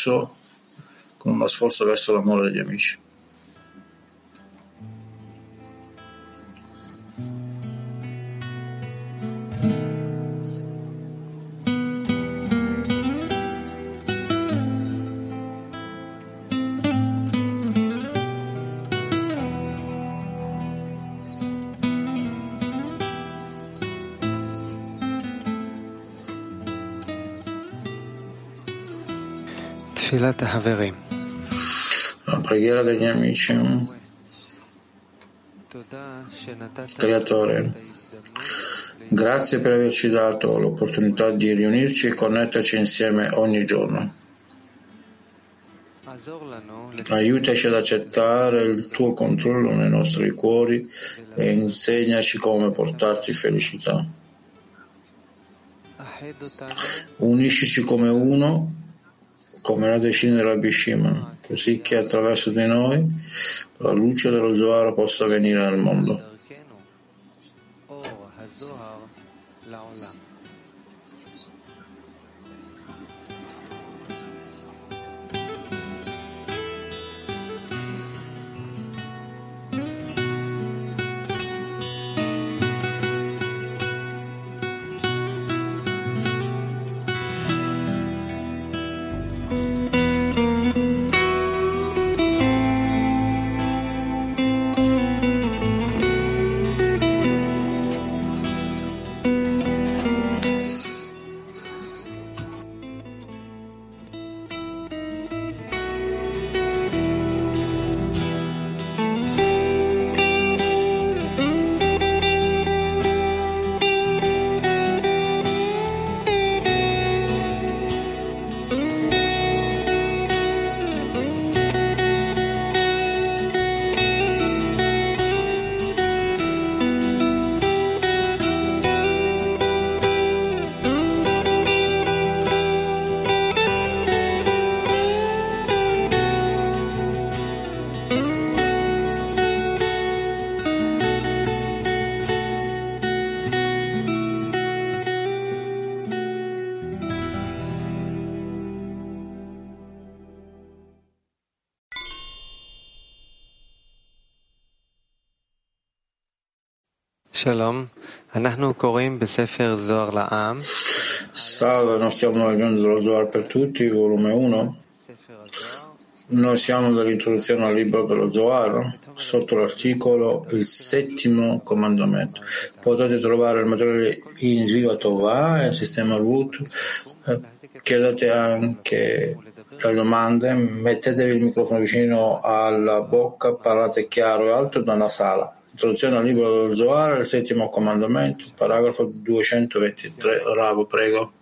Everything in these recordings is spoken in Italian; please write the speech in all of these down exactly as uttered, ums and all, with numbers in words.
sforzo, con uno sforzo verso l'amore degli amici. La preghiera degli amici. Creatore, grazie per averci dato l'opportunità di riunirci e connetterci insieme ogni giorno. Aiutaci ad accettare il tuo controllo nei nostri cuori e insegnaci come portarci felicità. Uniscici come uno, come la decina della Rabbi Shimon, così che attraverso di noi la luce dello Zohar possa venire nel mondo. Shalom, Salve, noi stiamo leggendo lo Zohar per tutti, volume uno. Noi siamo nell'introduzione al libro dello Zohar, sotto l'articolo il settimo comandamento. Potete trovare il materiale in Sviva Tovah e il sistema Root. Chiedete anche le domande, mettetevi il microfono vicino alla bocca, parlate chiaro e alto nella sala. Introduzione al libro dello Zohar, il settimo comandamento, paragrafo duecentoventitré. Ravo, prego.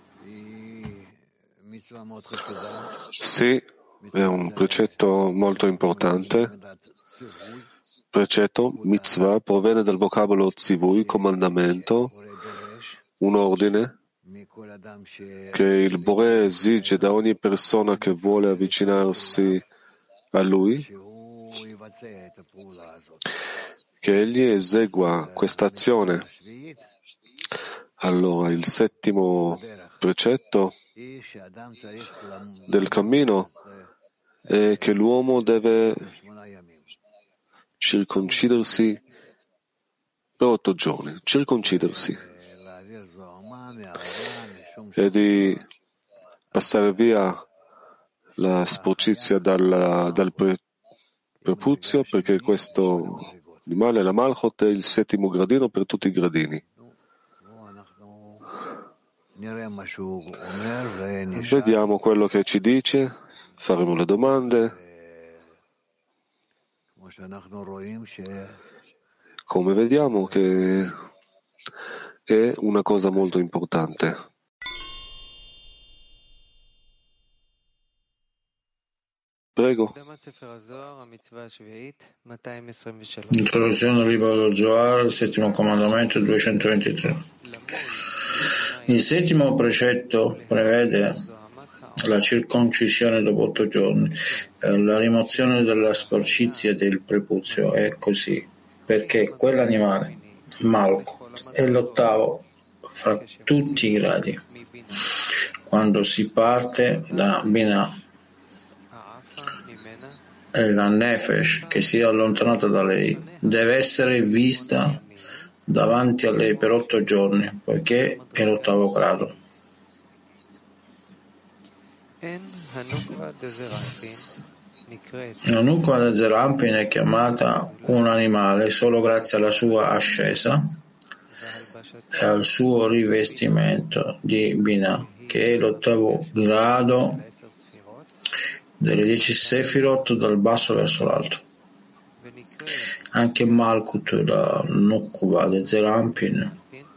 Sì, è un precetto molto importante. Precetto, mitzvah, proviene dal vocabolo tzivui, comandamento, un ordine che il Boré esige da ogni persona che vuole avvicinarsi a Lui, che egli esegua questa azione. Allora, il settimo precetto del cammino è che l'uomo deve circoncidersi per otto giorni, circoncidersi e di passare via la sporcizia dal, dal pre, prepuzio, perché questo animale, la Malchot, è il settimo gradino per tutti i gradini. Vediamo quello che ci dice, faremo le domande. Come vediamo che è una cosa molto importante. Prego. Introduzione al libro dello Zohar, il settimo comandamento, duecentoventitré. Il settimo precetto prevede la circoncisione dopo otto giorni, la rimozione della sporcizia del prepuzio. È così, perché quell'animale, Malco, è l'ottavo fra tutti i gradi. Quando si parte da Binah e la Nefesh che si è allontanata da lei deve essere vista davanti a lei per otto giorni, poiché è l'ottavo grado. La Nukva de Zerampin è chiamata un animale solo grazie alla sua ascesa e al suo rivestimento di Binah, che è l'ottavo grado delle dieci Sefirot dal basso verso l'alto. Anche Malkut, la Nukva de Zerampin,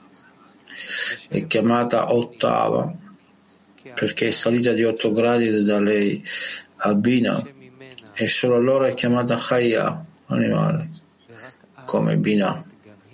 è chiamata ottava perché è salita di otto gradi da lei a Binah e solo allora è chiamata Chaya, animale, come Binah.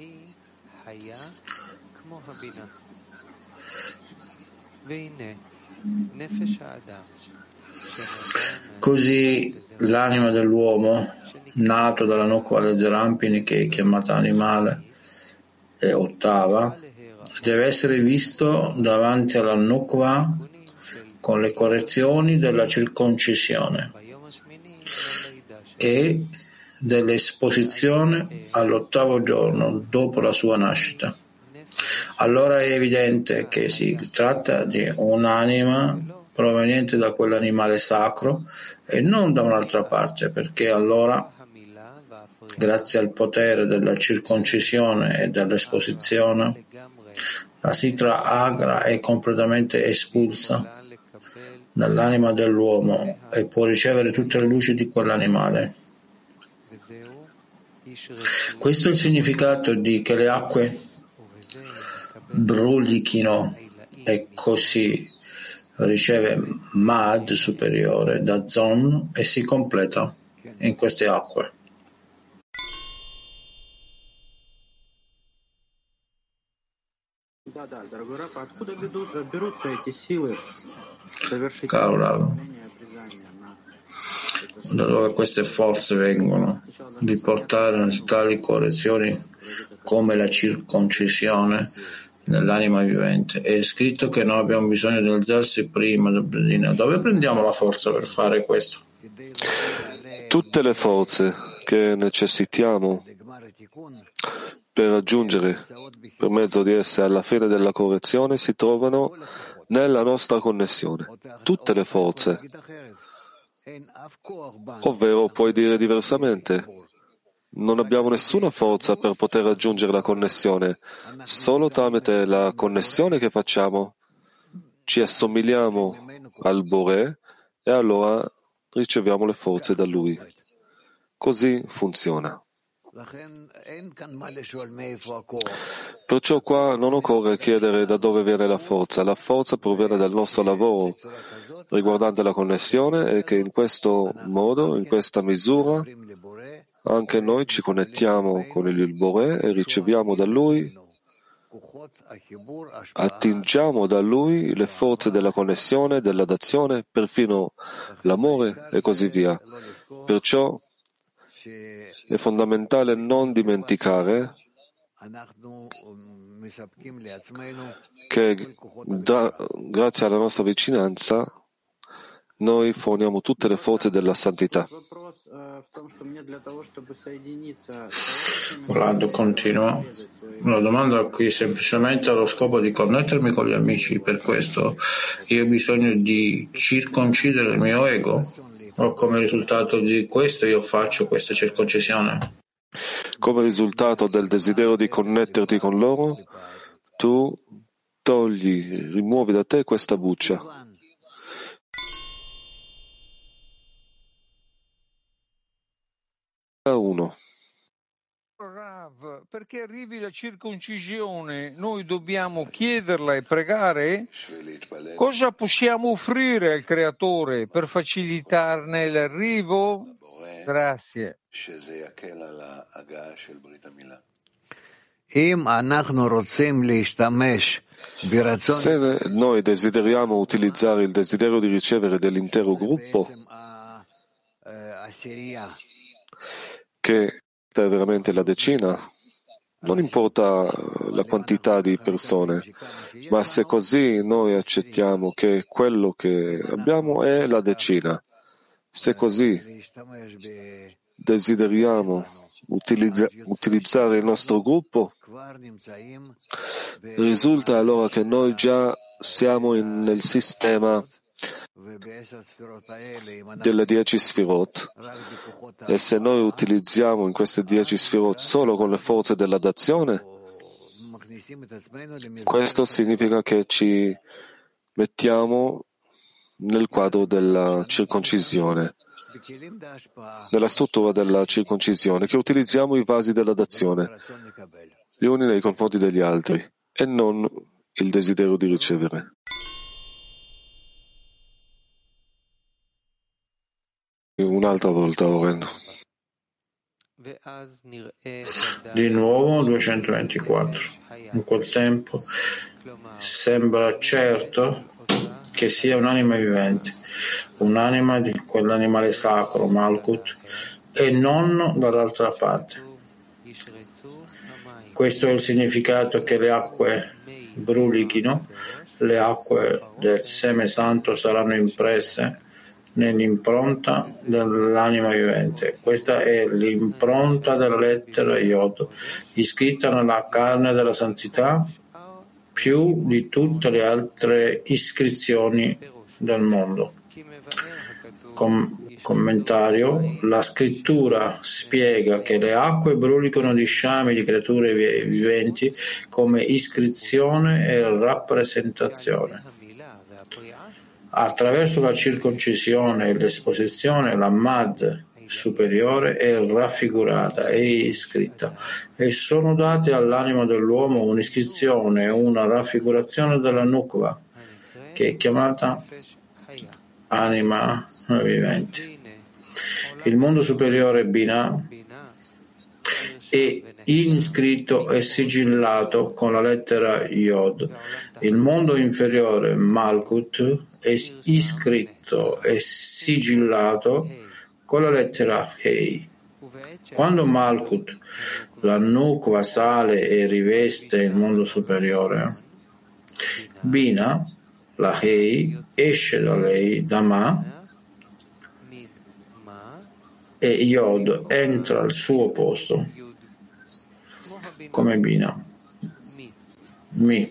Così l'anima dell'uomo, nato dalla Nukva de Zerampin, che è chiamata animale e ottava, deve essere visto davanti alla Nukva con le correzioni della circoncisione e dell'esposizione all'ottavo giorno dopo la sua nascita. Allora è evidente che si tratta di un'anima proveniente da quell'animale sacro e non da un'altra parte, perché allora, grazie al potere della circoncisione e dell'esposizione, la Sitra Agra è completamente espulsa dall'anima dell'uomo e può ricevere tutte le luci di quell'animale. Questo è il significato di che le acque brulichino e così riceve Mad superiore da Zon e si completa in queste acque. Caro Rav, da dove queste forze vengono di portare tali correzioni come la circoncisione nell'anima vivente? È scritto che noi abbiamo bisogno di alzarsi prima del Bredina. Dove prendiamo la forza per fare questo? Tutte le forze che necessitiamo per raggiungere, per mezzo di esse, alla fine della correzione si trovano nella nostra connessione. Tutte le forze. Ovvero, puoi dire diversamente, non abbiamo nessuna forza per poter raggiungere la connessione, solo tramite la connessione che facciamo ci assomigliamo al Boré e allora riceviamo le forze da Lui. Così funziona. Perciò qua non occorre chiedere da dove viene la forza. La forza proviene dal nostro lavoro riguardante la connessione e che in questo modo, in questa misura, anche noi ci connettiamo con il Boré e riceviamo da Lui, attingiamo da Lui le forze della connessione, della dazione, perfino l'amore e così via. Perciò è fondamentale non dimenticare che da, grazie alla nostra vicinanza noi forniamo tutte le forze della santità. Vlad continua. La domanda qui semplicemente ha lo scopo di connettermi con gli amici, per questo io ho bisogno di circoncidere il mio ego, o come risultato di questo io faccio questa circoncisione? Come risultato del desiderio di connetterti con loro, tu togli, rimuovi da te questa buccia. Uno. Rav, perché arrivi la circoncisione, noi dobbiamo chiederla e pregare? Cosa possiamo offrire al Creatore per facilitarne l'arrivo? Grazie. Se noi desideriamo utilizzare il desiderio di ricevere dell'intero gruppo, che è veramente la decina, non importa la quantità di persone, ma se così noi accettiamo che quello che abbiamo è la decina, Se così desideriamo utilizza- utilizzare il nostro gruppo, risulta allora che noi già siamo in- nel sistema delle dieci sfirot, e se noi utilizziamo in queste dieci sfirot solo con le forze della dazione, questo significa che ci mettiamo nel quadro della circoncisione, nella struttura della circoncisione, che utilizziamo i vasi della dazione, gli uni nei confronti degli altri, e non il desiderio di ricevere. Un'altra volta, Oren. Di nuovo duecentoventiquattro. In quel tempo sembra certo che sia un'anima vivente, un'anima di quell'animale sacro, Malkut, e non dall'altra parte. Questo è il significato che le acque brulichino, le acque del seme santo saranno impresse nell'impronta dell'anima vivente. Questa è l'impronta della lettera Yod, iscritta nella carne della santità, più di tutte le altre iscrizioni del mondo. Com- commentario: la scrittura spiega che le acque brulicano di sciami di creature viventi come iscrizione e rappresentazione. Attraverso la circoncisione e l'esposizione, la Mad superiore è raffigurata e iscritta, e sono date all'anima dell'uomo un'iscrizione e una raffigurazione della Nukva, che è chiamata anima vivente. Il mondo superiore Binah è iscritto e sigillato con la lettera Yod. Il mondo inferiore Malkut è iscritto e sigillato con la lettera Hei. Quando Malkut, la Nukva, sale e riveste il mondo superiore, Binah, la Hei, esce da lei, da Ma, e Yod entra al suo posto come Binah, Mi.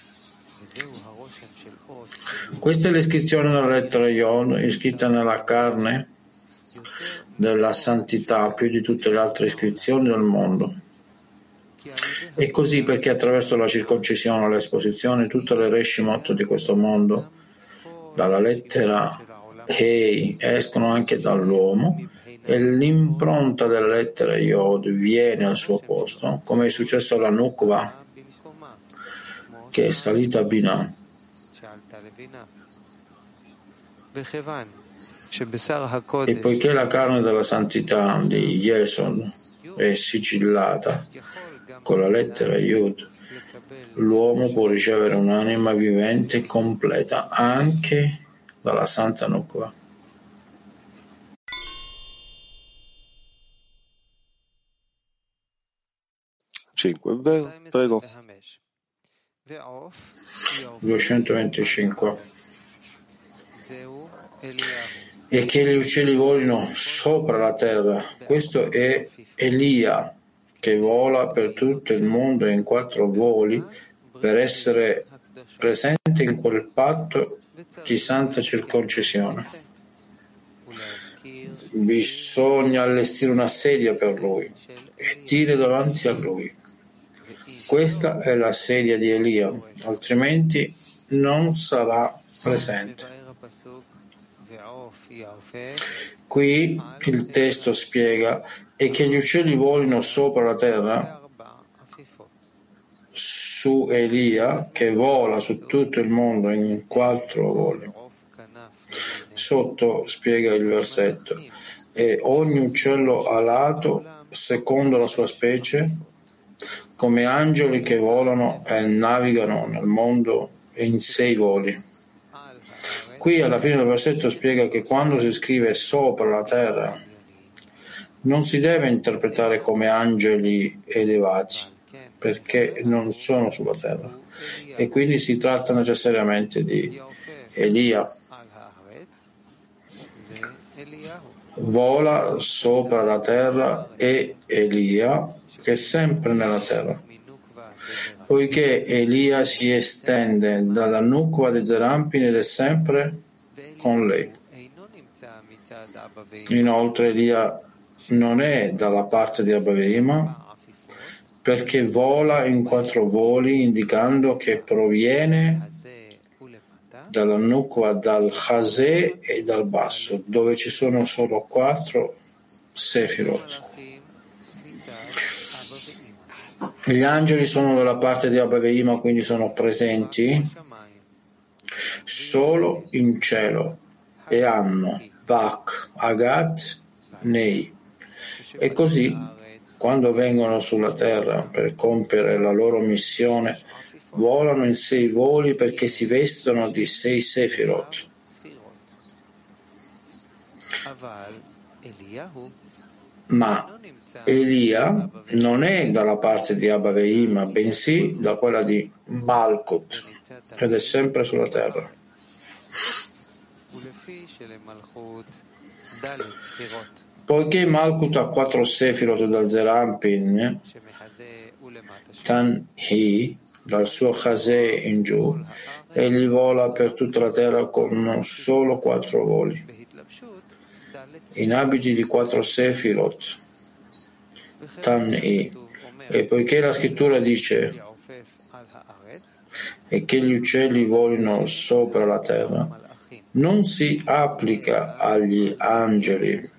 Questa è l'iscrizione della lettera Yod, iscritta nella carne della santità più di tutte le altre iscrizioni del mondo. E così perché attraverso la circoncisione e l'esposizione tutte le reshimot di questo mondo dalla lettera Hei escono anche dall'uomo, e l'impronta della lettera Yod viene al suo posto, come è successo alla Nukva, che è salita a Binah. E poiché la carne della santità di Yesod è sigillata con la lettera Yud, l'uomo può ricevere un'anima vivente completa anche dalla Santa Nukva. cinque. Prego. duecentoventicinque. E che gli uccelli volino sopra la terra. Questo è Elia, che vola per tutto il mondo in quattro voli per essere presente in quel patto di santa circoncisione. Bisogna allestire una sedia per lui e dire davanti a lui: questa è la sedia di Elia, altrimenti non sarà presente. Qui il testo spiega: e che gli uccelli volino sopra la terra, su Elia, che vola su tutto il mondo in quattro voli. Sotto spiega il versetto: e ogni uccello alato secondo la sua specie, come angeli che volano e navigano nel mondo in sei voli. Qui alla fine del versetto spiega che quando si scrive sopra la terra non si deve interpretare come angeli elevati, perché non sono sulla terra, e quindi si tratta necessariamente di Elia. vola sopra la terra, e Elia, che è sempre nella terra. Poiché Elia si estende dalla Nukva di Zerampin ed è sempre con lei. Inoltre Elia non è dalla parte di Abba Veima, perché vola in quattro voli, indicando che proviene dalla Nukva, dal Chazé e dal basso, dove ci sono solo quattro Sefirot. Gli angeli sono dalla parte di Abba Veima, quindi sono presenti solo in cielo e hanno Vak, Agat, Nei. E così, quando vengono sulla terra per compiere la loro missione, volano in sei voli perché si vestono di sei Sefirot. Ma Elia non è dalla parte di Abba Veima, bensì da quella di Malkut, ed è sempre sulla terra. Poiché Malkut ha quattro Sefirot dal Zerampin, Tan-Hi, dal suo Chazé in giù, egli vola per tutta la terra con solo quattro voli, in abiti di quattro Sefirot, Tan-Hi. E poiché la scrittura dice e che gli uccelli volino sopra la terra, non si applica agli angeli,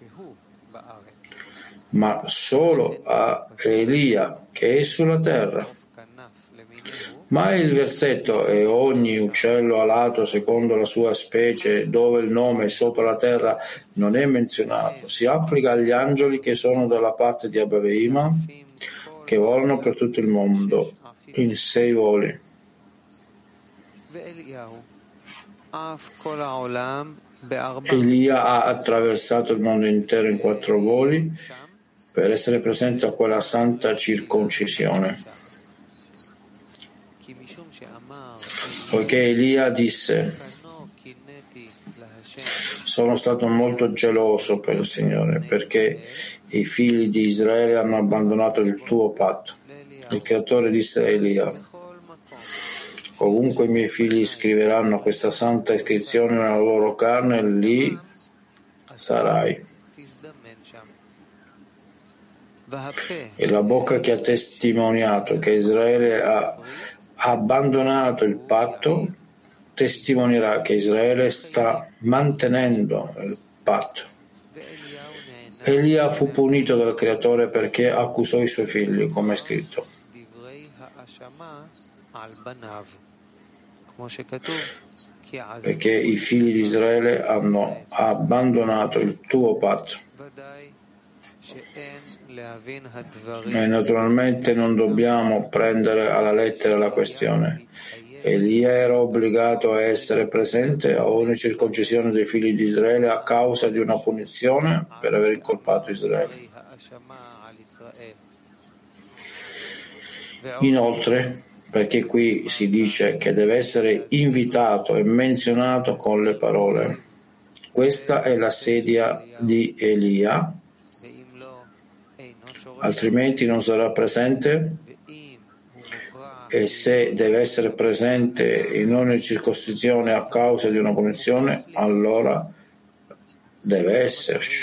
ma solo a Elia, che è sulla terra. Ma il versetto "e ogni uccello alato secondo la sua specie", dove il nome sopra la terra non è menzionato, si applica agli angeli che sono dalla parte di Abba Veima, che volano per tutto il mondo in sei voli. Elia ha attraversato il mondo intero in quattro voli per essere presente a quella santa circoncisione. Poiché Elia disse: sono stato molto geloso per il Signore, perché i figli di Israele hanno abbandonato il tuo patto. Il Creatore disse a Elia: ovunque i miei figli scriveranno questa santa iscrizione nella loro carne, lì sarai. E la bocca che ha testimoniato che Israele ha abbandonato il patto testimonierà che Israele sta mantenendo il patto. Elia fu punito dal Creatore perché accusò i suoi figli, come è scritto. Perché i figli di Israele hanno abbandonato il tuo patto. E naturalmente non dobbiamo prendere alla lettera la questione. Elia era obbligato a essere presente a ogni circoncisione dei figli di Israele a causa di una punizione per aver incolpato Israele. Inoltre, perché qui si dice che deve essere invitato e menzionato con le parole: questa è la sedia di Elia, altrimenti non sarà presente. E se deve essere presente in ogni circoncisione a causa di una punizione, allora deve esserci.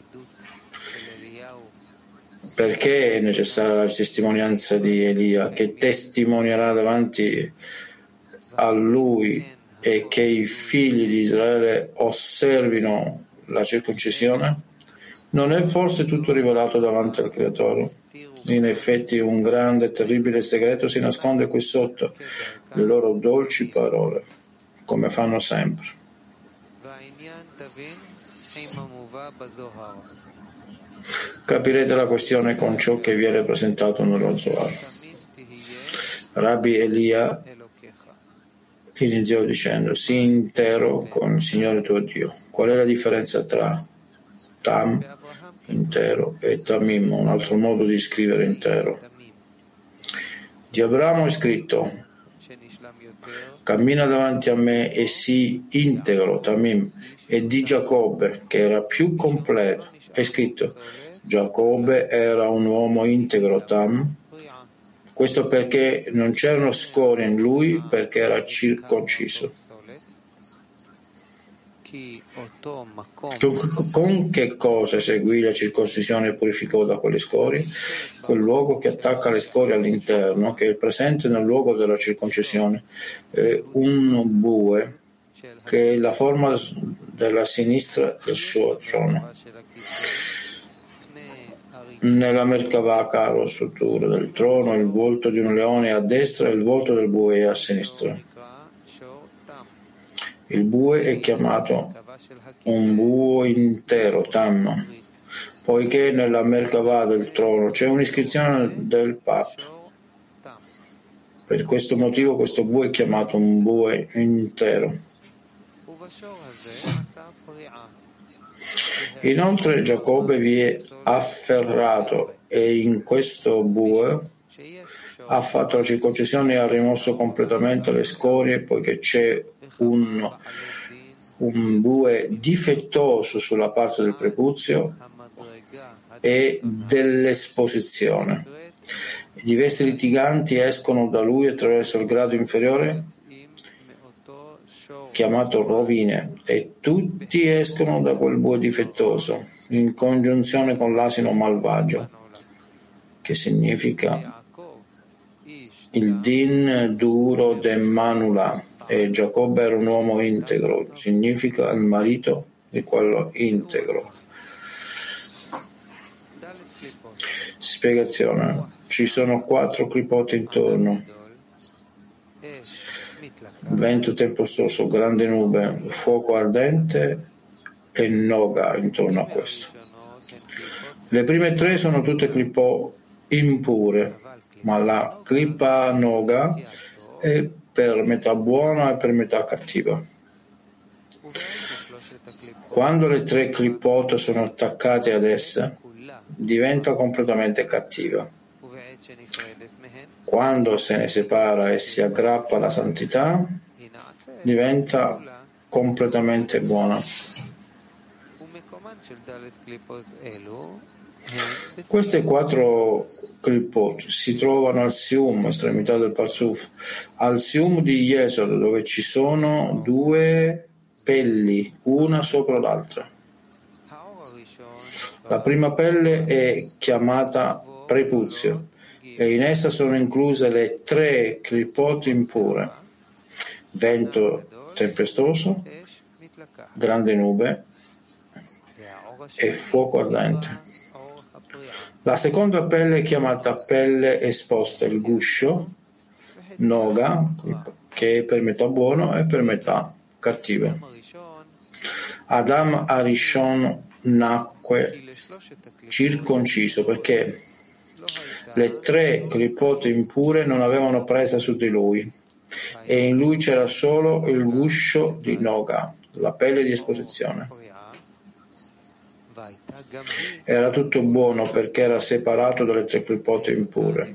Perché è necessaria la testimonianza di Elia, che testimonierà davanti a lui e che i figli di Israele osservino la circoncisione? Non è forse tutto rivelato davanti al Creatore? In effetti un grande e terribile segreto si nasconde qui sotto le loro dolci parole, come fanno sempre. Capirete la questione con ciò che viene presentato nello Zohar. Rabbi Elia iniziò dicendo: sii intero con il Signore tuo Dio. Qual è la differenza tra Tam, intero, e Tamim, un altro modo di scrivere intero? Di Abramo è scritto: cammina davanti a me e sii integro, Tamim, e di Giacobbe, che era più completo. È scritto: Giacobbe era un uomo integro, Tam. Questo perché non c'erano scorie in lui, perché era circonciso. Con che cosa seguì la circoncisione e purificò da quelle scorie? Quel luogo che attacca le scorie all'interno, che è presente nel luogo della circoncisione, è un bue, che è la forma della sinistra del suo trono. Nella Merkavah, caro struttura del trono, il volto di un leone a destra e il volto del bue è a sinistra. Il bue è chiamato un bue intero, Tam, poiché nella Merkavah del trono c'è un'iscrizione del patto. Per questo motivo questo bue è chiamato un bue intero. Inoltre Giacobbe vi è afferrato e in questo bue ha fatto la circoncisione e ha rimosso completamente le scorie, poiché c'è un, un bue difettoso sulla parte del prepuzio e dell'esposizione. I diversi litiganti escono da lui attraverso il grado inferiore chiamato rovine, e tutti escono da quel bue difettoso in congiunzione con l'asino malvagio, che significa il din duro de manula, e Giacobbe era un uomo integro, significa il marito di quello integro. Spiegazione: ci sono quattro clipote intorno: vento tempestoso, grande nube, fuoco ardente e noga intorno a questo. Le prime tre sono tutte clipò impure, ma la clipa noga è per metà buona e per metà cattiva. Quando le tre clipot sono attaccate ad essa, diventa completamente cattiva. Quando se ne separa e si aggrappa alla santità, diventa completamente buona. Queste quattro clipot si trovano al Sium, estremità del Parsuf, al Sium di Yesod, dove ci sono due pelli, una sopra l'altra. La prima pelle è chiamata prepuzio e in essa sono incluse le tre clipot impure: vento tempestoso, grande nube e fuoco ardente. La seconda pelle è chiamata pelle esposta, il guscio, noga, che è per metà buono e per metà cattivo. Adam Arishon nacque circonciso perché le tre clipote impure non avevano presa su di lui e in lui c'era solo il guscio di noga, la pelle di esposizione. Era tutto buono perché era separato dalle tre clipote impure.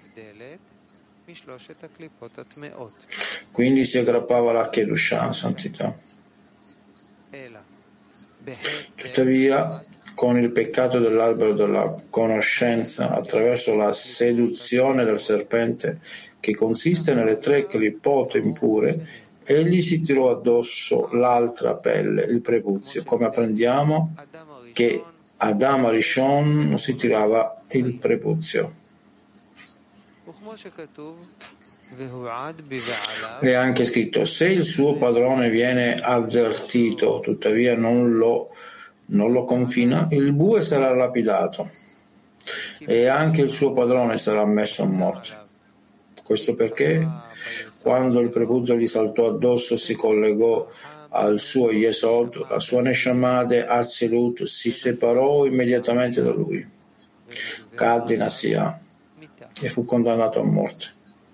Quindi si aggrappava alla Kedushah, santità. Tuttavia, con il peccato dell'albero della conoscenza, attraverso la seduzione del serpente, che consiste nelle tre clipote impure, egli si tirò addosso l'altra pelle, il prepuzio, come apprendiamo che Adam Arishon si tirava il prepuzio. È anche scritto: se il suo padrone viene avvertito, tuttavia non lo, non lo confina, il bue sarà lapidato e anche il suo padrone sarà messo a morte. Questo perché quando il prepuzio gli saltò addosso e si collegò al suo Yesod, la sua Neshama de Atzilut si separò immediatamente da lui, cadde in Asiya e fu condannato a morte.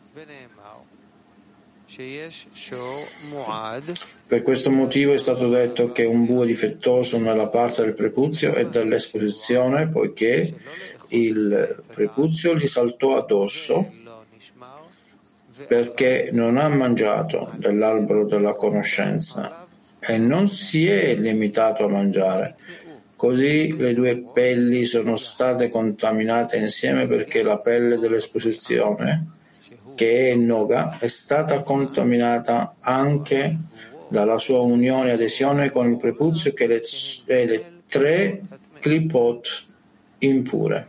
Per questo motivo è stato detto che un bue difettoso nella parte del prepuzio e dell'esposizione, poiché il prepuzio gli saltò addosso perché non ha mangiato dell'albero della conoscenza e non si è limitato a mangiare. Così le due pelli sono state contaminate insieme perché la pelle dell'esposizione, che è Noga, è stata contaminata anche dalla sua unione e adesione con il prepuzio che le, e le tre clipot impure.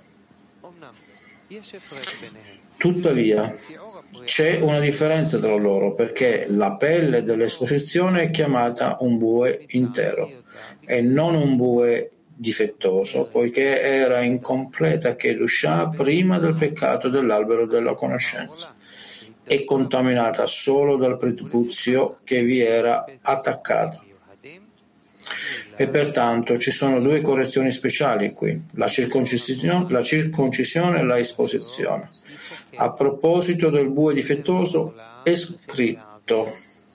Tuttavia, c'è una differenza tra loro perché la pelle dell'esposizione è chiamata un bue intero e non un bue difettoso, poiché era incompleta Kedushah prima del peccato dell'albero della conoscenza. È contaminata solo dal prepuzio che vi era attaccato. E pertanto ci sono due correzioni speciali qui, la circoncisione, la circoncisione e la esposizione. A proposito del bue difettoso è scritto: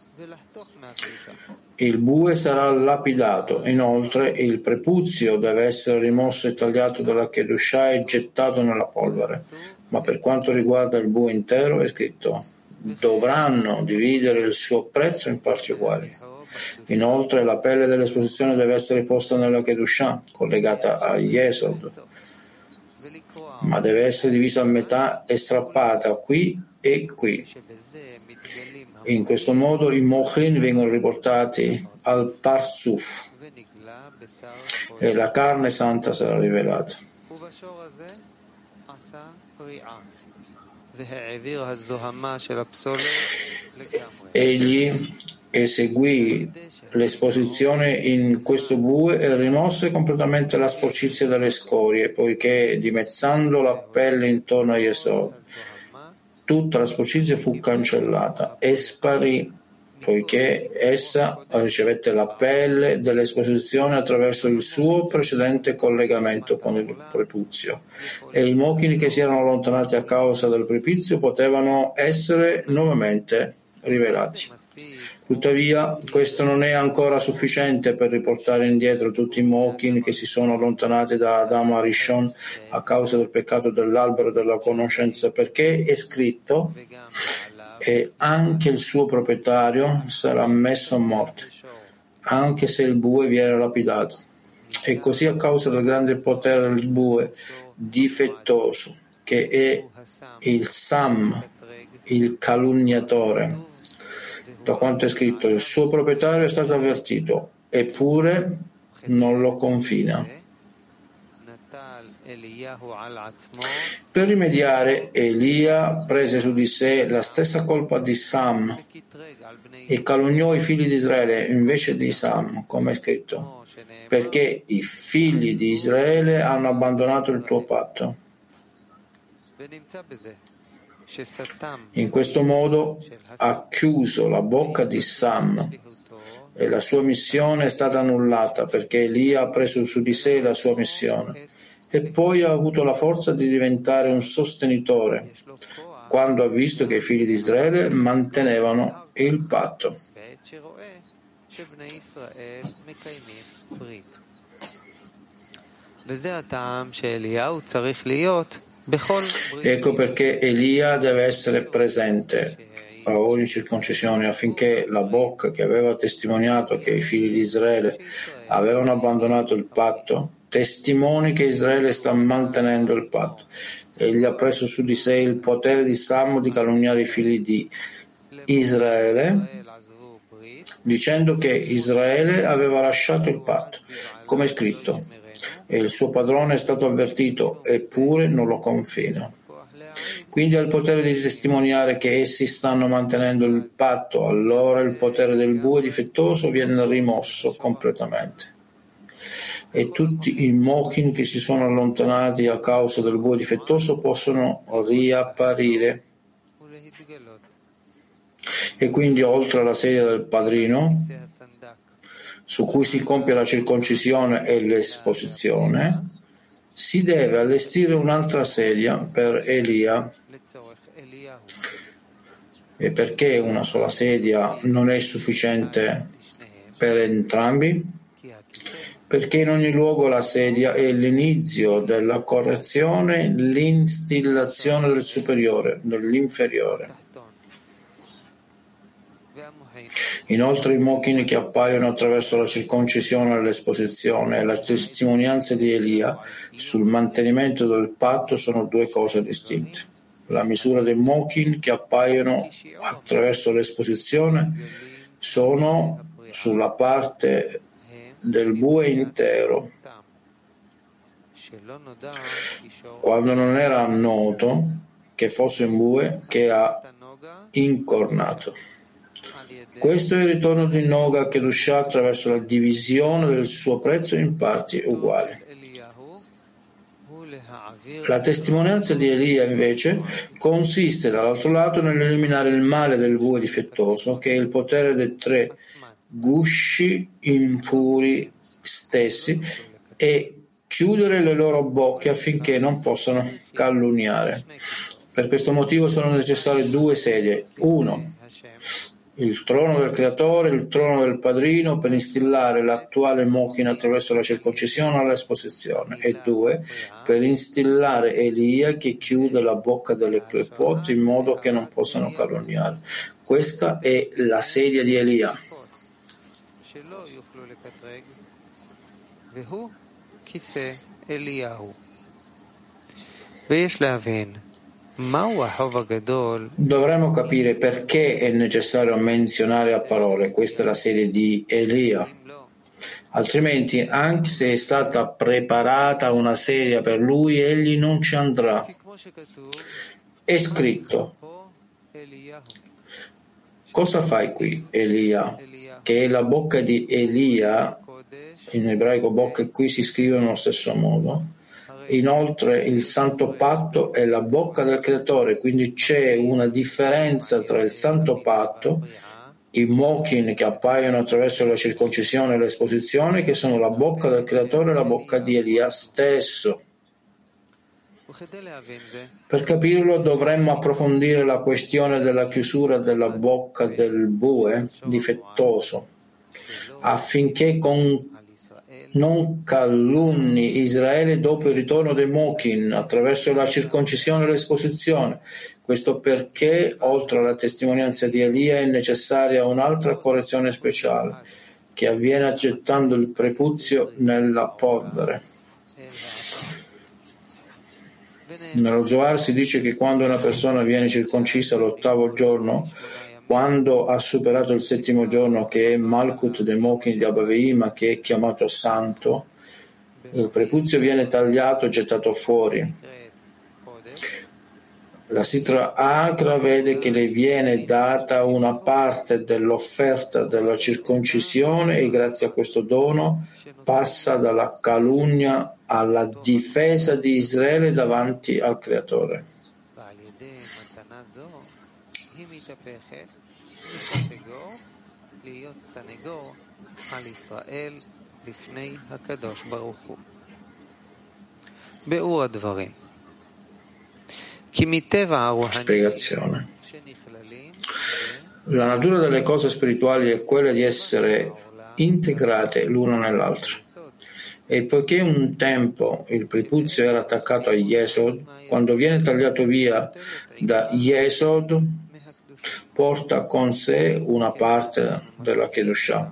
il bue sarà lapidato. Inoltre il prepuzio deve essere rimosso e tagliato dalla Kedushah e gettato nella polvere. Ma per quanto riguarda il bue intero è scritto: dovranno dividere il suo prezzo in parti uguali. Inoltre la pelle dell'esposizione deve essere posta nella Kedushah, collegata a Yesod, ma deve essere divisa a metà e strappata qui e qui. In questo modo i mochin vengono riportati al Parsuf e la carne santa sarà rivelata. Egli eseguì l'esposizione in questo bue e rimosse completamente la sporcizia dalle scorie, poiché dimezzando la pelle intorno a Yesod, tutta la sporcizia fu cancellata e sparì, poiché essa ricevette la pelle dell'esposizione attraverso il suo precedente collegamento con il prepuzio, e i mochini che si erano allontanati a causa del prepuzio potevano essere nuovamente rivelati. Tuttavia, questo non è ancora sufficiente per riportare indietro tutti i mochin che si sono allontanati da Adam Arishon a causa del peccato dell'albero della conoscenza, perché è scritto: e anche il suo proprietario sarà messo a morte, anche se il bue viene lapidato. E così, a causa del grande potere del bue difettoso, che è il Sam, il calunniatore, da quanto è scritto, il suo proprietario è stato avvertito, eppure non lo confina. Per rimediare, Elia prese su di sé la stessa colpa di Sam e calunniò i figli di Israele invece di Sam, come è scritto, perché i figli di Israele hanno abbandonato il tuo patto. In questo modo ha chiuso la bocca di Sam e la sua missione è stata annullata perché Elia ha preso su di sé la sua missione e poi ha avuto la forza di diventare un sostenitore quando ha visto che i figli di Israele mantenevano il patto. Ecco perché Elia deve essere presente a ogni circoncisione affinché la bocca che aveva testimoniato che i figli di Israele avevano abbandonato il patto testimoni che Israele sta mantenendo il patto. Egli ha preso su di sé il potere di Sam di calunniare i figli di Israele dicendo che Israele aveva lasciato il patto, come è scritto, e il suo padrone è stato avvertito, eppure non lo confina. Quindi ha il potere di testimoniare che essi stanno mantenendo il patto, allora il potere del bue difettoso viene rimosso completamente. E tutti i mochin che si sono allontanati a causa del bue difettoso possono riapparire. E quindi, oltre alla sedia del padrino, su cui si compie la circoncisione e l'esposizione, si deve allestire un'altra sedia per Elia. E perché una sola sedia non è sufficiente per entrambi? Perché in ogni luogo la sedia è l'inizio della correzione, l'instillazione del superiore, dell'inferiore. Inoltre i mokin che appaiono attraverso la circoncisione e l'esposizione e la testimonianza di Elia sul mantenimento del patto sono due cose distinte. La misura dei mokin che appaiono attraverso l'esposizione sono sulla parte del bue intero, quando non era noto che fosse un bue che ha incornato. Questo è il ritorno di Noga Kedushah attraverso la divisione del suo prezzo in parti uguali. La testimonianza di Elia, invece, consiste dall'altro lato nell'eliminare il male del bue difettoso, che è il potere dei tre gusci impuri stessi, e chiudere le loro bocche affinché non possano calunniare. Per questo motivo sono necessarie due sedie. Uno, il trono del creatore, il trono del padrino, per instillare l'attuale mochina attraverso la circoncisione all'esposizione, e due, per instillare Elia che chiude la bocca delle clepot in modo che non possano calunniare. Questa è la sedia di Elia. Dovremmo capire perché è necessario menzionare a parole questa è la sedia di Elia. Altrimenti, anche se è stata preparata una sedia per lui, egli non ci andrà. È scritto: cosa fai qui, Elia? Che è la bocca di Elia, in ebraico bocca e qui si scrive nello stesso modo. Inoltre il Santo Patto è la bocca del Creatore, quindi c'è una differenza tra il Santo Patto, i mokin che appaiono attraverso la circoncisione e l'esposizione, che sono la bocca del Creatore e la bocca di Elia stesso. Per capirlo dovremmo approfondire la questione della chiusura della bocca del bue difettoso, affinché con non calunni Israele dopo il ritorno dei mokin attraverso la circoncisione e l'esposizione. Questo perché, oltre alla testimonianza di Elia, è necessaria un'altra correzione speciale, che avviene accettando il prepuzio nella polvere. Nello Zohar si dice che quando una persona viene circoncisa all'ottavo giorno, quando ha superato il settimo giorno, che è Malkut dei Mokin di Abba Veima, che è chiamato santo, il prepuzio viene tagliato e gettato fuori. La Sitra Atra vede che le viene data una parte dell'offerta della circoncisione e grazie a questo dono passa dalla calunnia alla difesa di Israele davanti al Creatore. Spiegazione. La natura delle cose spirituali è quella di essere integrate l'una nell'altra. E poiché un tempo il prepuzio era attaccato a Yesod, quando viene tagliato via da Yesod, porta con sé una parte della Kedushah.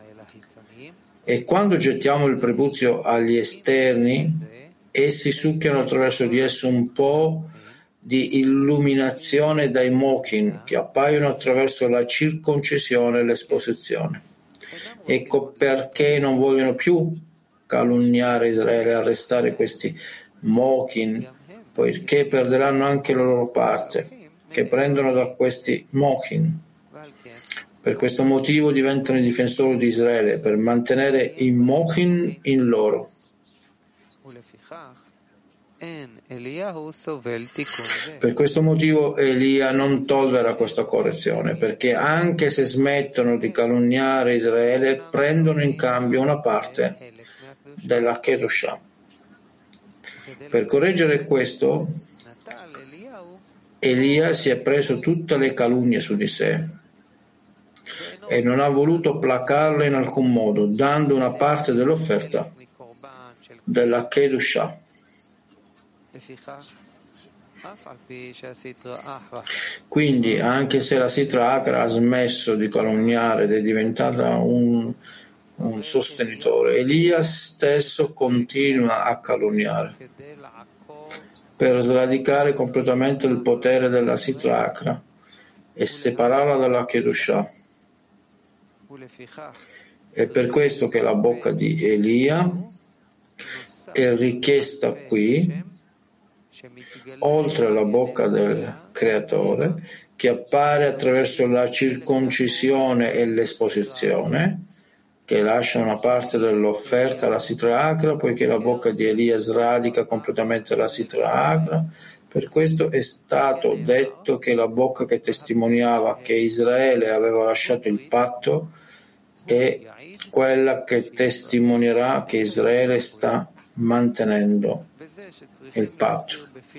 E quando gettiamo il prepuzio agli esterni, essi succhiano attraverso di esso un po' di illuminazione dai mokin che appaiono attraverso la circoncisione e l'esposizione. Ecco perché non vogliono più calunniare Israele e arrestare questi mokin, poiché perderanno anche la loro parte che prendono da questi mokin. Per questo motivo diventano i difensori di Israele, per mantenere i mokin in loro. Per questo motivo Elia non tollera questa correzione, perché anche se smettono di calunniare Israele, prendono in cambio una parte della Kedushah. Per correggere questo, Elia si è preso tutte le calunnie su di sé e non ha voluto placarle in alcun modo, dando una parte dell'offerta della Kedushah. Quindi, anche se la Sitra Achra ha smesso di calunniare ed è diventata un, un sostenitore, Elia stesso continua a calunniare per sradicare completamente il potere della Sitra Achra e separarla dalla Kedushah. È per questo che la bocca di Elia è richiesta qui, oltre alla bocca del Creatore, che appare attraverso la circoncisione e l'esposizione, che lascia una parte dell'offerta alla Sitra Achra, poiché la bocca di Elia sradica completamente la Sitra Achra. Per questo è stato detto che la bocca che testimoniava che Israele aveva lasciato il patto è quella che testimonierà che Israele sta mantenendo il patto.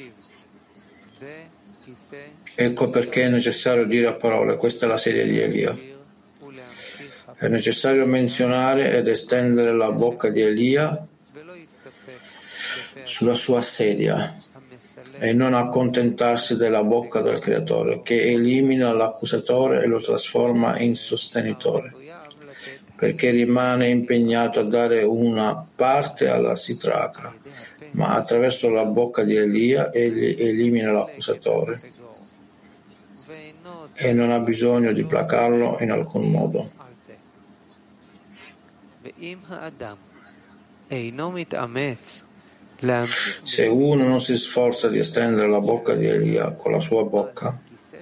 Ecco perché è necessario dire a parole: questa è la sedia di Elia. È necessario menzionare ed estendere la bocca di Elia sulla sua sedia e non accontentarsi della bocca del Creatore, che elimina l'accusatore e lo trasforma in sostenitore, perché rimane impegnato a dare una parte alla Sitra Achra, ma attraverso la bocca di Elia egli elimina l'accusatore e non ha bisogno di placarlo in alcun modo. Se uno non si sforza di estendere la bocca di Elia con la sua bocca,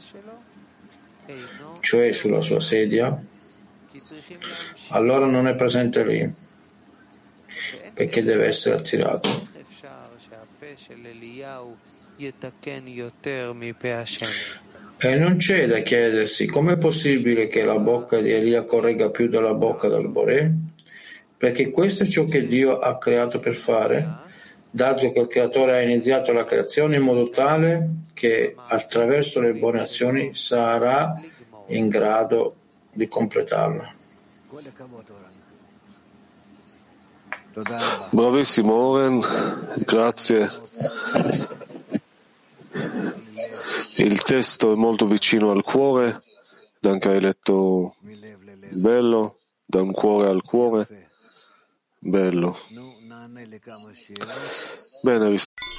cioè sulla sua sedia, allora non è presente lì, perché deve essere attirato. E non c'è da chiedersi com'è possibile che la bocca di Elia corregga più della bocca del Boré, perché questo è ciò che Dio ha creato per fare, dato che il Creatore ha iniziato la creazione in modo tale che attraverso le buone azioni sarà in grado di completarla. Bravissimo Oren, grazie. Il testo è molto vicino al cuore, anche hai letto bello, da un cuore al cuore, bello. Bene,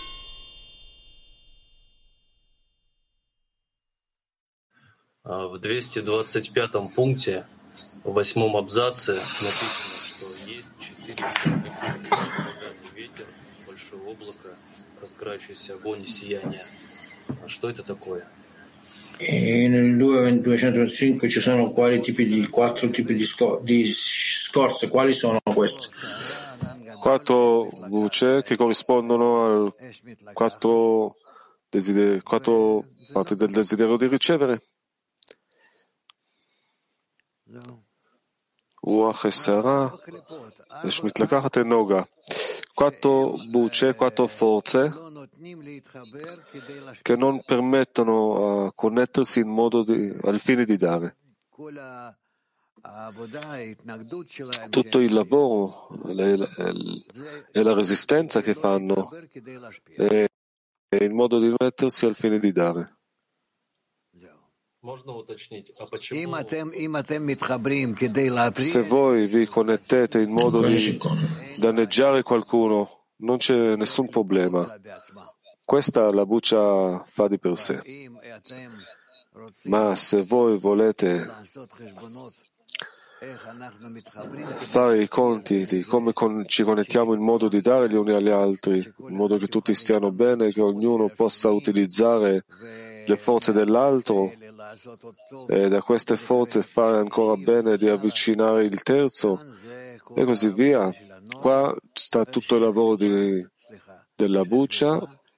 В двести двадцать пятом пункте, в восьмом абзаце написано, что есть четыре ветер, большое облако, разгорающийся огонь и сияние. А что это такое? E nel duecentoventicinque ci sono quali tipi di quattro tipi di, scor- di scorze, quali sono queste? Quattro voci che corrispondono a quattro, desider- quattro parti del desiderio di ricevere. רוח הסערה, יש מתלקחת הנוגה. Quattro bucce, quattro forze che non permettono a connettersi in modo di, al fine di dare. Tutto il lavoro e la resistenza che fanno è il modo di mettersi al fine di dare. Se voi vi connettete in modo di danneggiare qualcuno, non c'è nessun problema. Questa la buccia fa di per sé. Ma se voi volete fare i conti di come con, ci connettiamo in modo di dare gli uni agli altri, in modo che tutti stiano bene, che ognuno possa utilizzare le forze dell'altro e da queste forze fare ancora bene di avvicinare il terzo e così via. Qua sta tutto il lavoro di, della buccia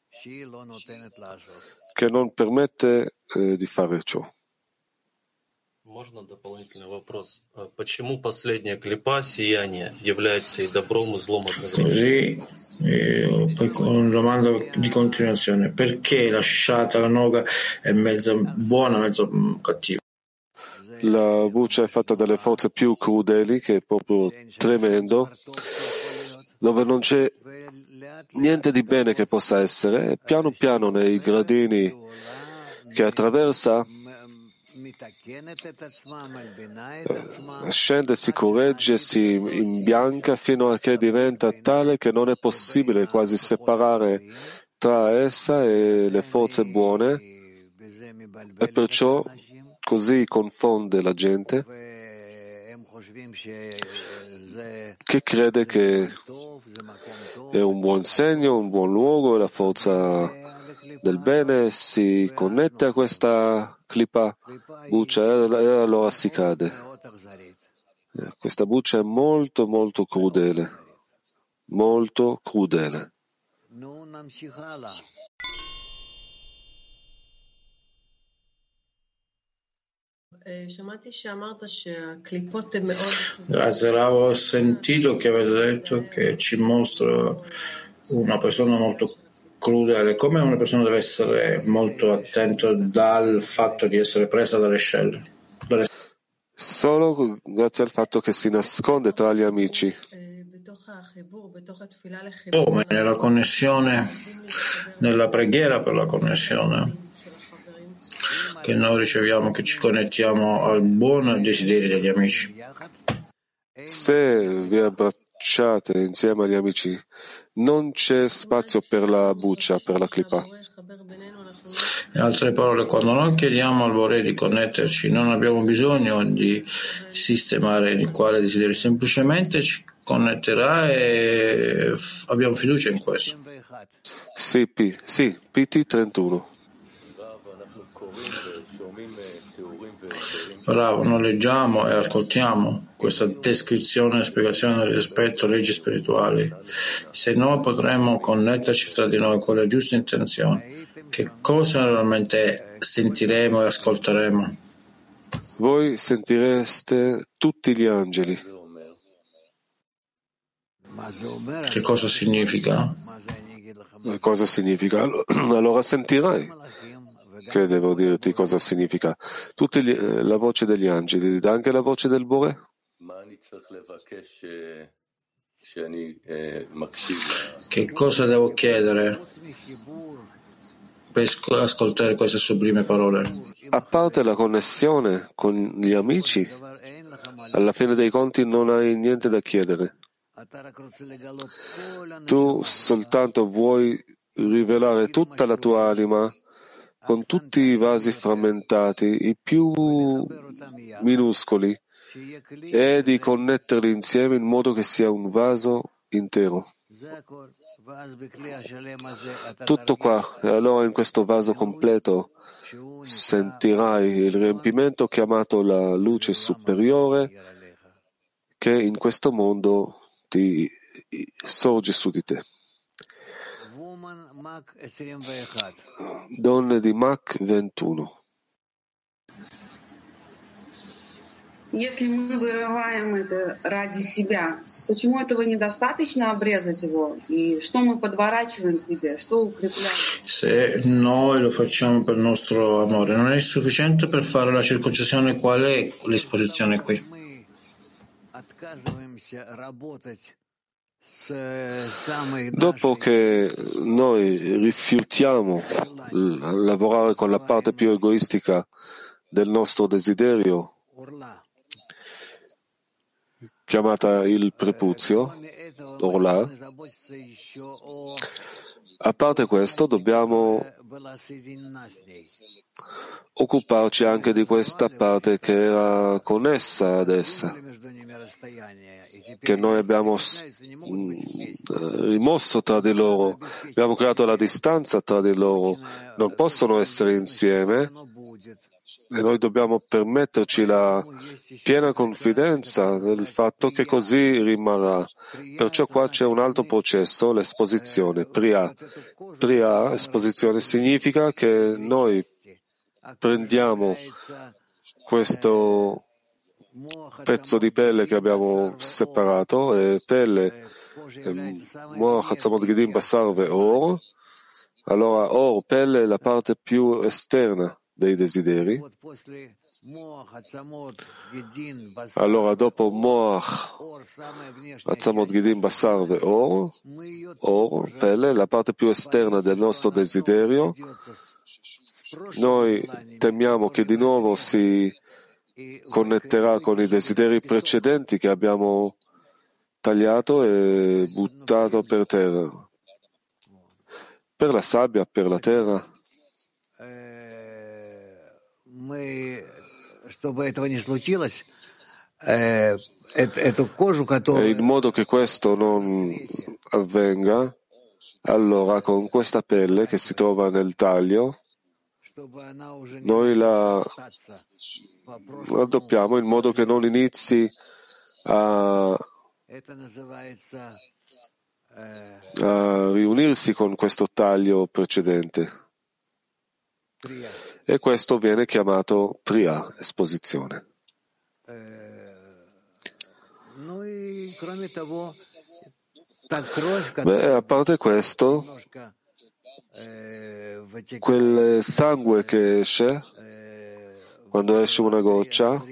che non permette eh, di fare ciò. Можно дополнительный вопрос? Почему последняя клипа, сияние, является и добром, и злом одновременно? Così, eh, poi con una domanda di continuazione: perché lasciata la noga è mezzo buona, mezzo cattiva? La buccia è fatta dalle forze più crudeli, che è proprio tremendo, dove non c'è niente di bene che possa essere, e piano piano nei gradini che attraversa scende, si corregge, si imbianca fino a che diventa tale che non è possibile quasi separare tra essa e le forze buone, e perciò così confonde la gente che crede che è un buon segno, un buon luogo, e la forza del bene si connette a questa clipa buccia e allora si cade. Questa buccia è molto molto crudele, molto crudele. Grazie, Rav. Ho sentito che avete detto che ci mostra una persona molto crudele. Come una persona deve essere molto attenta dal fatto di essere presa dalle scelle? Dalle... Solo grazie al fatto che si nasconde tra gli amici. Come nella connessione, nella preghiera per la connessione che noi riceviamo, che ci connettiamo al buon desiderio degli amici. Se vi abbracciate insieme agli amici, non c'è spazio per la buccia, per la clipa. In altre parole, quando noi chiediamo al Boré di connetterci, non abbiamo bisogno di sistemare il quale desiderio, semplicemente ci connetterà e abbiamo fiducia in questo. Sì, P, sì, P T trentuno. Bravo, noi leggiamo e ascoltiamo questa descrizione e spiegazione rispetto alle leggi spirituali. Se noi potremmo connetterci tra di noi con le giuste intenzioni, che cosa realmente sentiremo e ascolteremo? Voi sentireste tutti gli angeli. Che cosa significa? Cosa significa? Allora sentirai. Che devo dirti cosa significa? Tutti gli, la voce degli angeli, anche la voce del Boré? Che cosa devo chiedere per ascoltare queste sublime parole? A parte la connessione con gli amici, alla fine dei conti non hai niente da chiedere. Tu soltanto vuoi rivelare tutta la tua anima con tutti i vasi frammentati, i più minuscoli, e di connetterli insieme in modo che sia un vaso intero. Tutto qua, e allora in questo vaso completo sentirai il riempimento chiamato la luce superiore che in questo mondo ti sorge su di te. Donne di Mach ventuno. Если мы вырываем это ради себя, почему этого недостаточно обрезать его? И что мы подворачиваем себе? Что укрепляем? Se noi lo facciamo per il nostro amore, non è sufficiente per fare la circoncisione? Qual è l'esposizione qui? Dopo che noi rifiutiamo lavorare con la parte più egoistica del nostro desiderio, chiamata il prepuzio, Orla, a parte questo dobbiamo occuparci anche di questa parte che era connessa ad essa, che noi abbiamo rimosso tra di loro, abbiamo creato la distanza tra di loro, non possono essere insieme e noi dobbiamo permetterci la piena confidenza del fatto che così rimarrà. Perciò qua c'è un altro processo, l'esposizione, Priya. Priya, esposizione, significa che noi prendiamo questo pezzo di pelle che abbiamo separato, e pelle, Or, allora Or, pelle è la parte più esterna dei desideri, Allora dopo Moach, Atzamot, Gidin, Basar e Or, Or, pelle, la parte più esterna del nostro desiderio, noi temiamo che di nuovo si connetterà con i desideri precedenti che abbiamo tagliato e buttato per terra. Per la sabbia, per la terra. E in modo che questo non avvenga, allora con questa pelle che si trova nel taglio, noi la raddoppiamo in modo che non inizi a, a riunirsi con questo taglio precedente. E questo viene chiamato Priya, esposizione. Beh, a parte questo, quel sangue che esce, quando esce una goccia,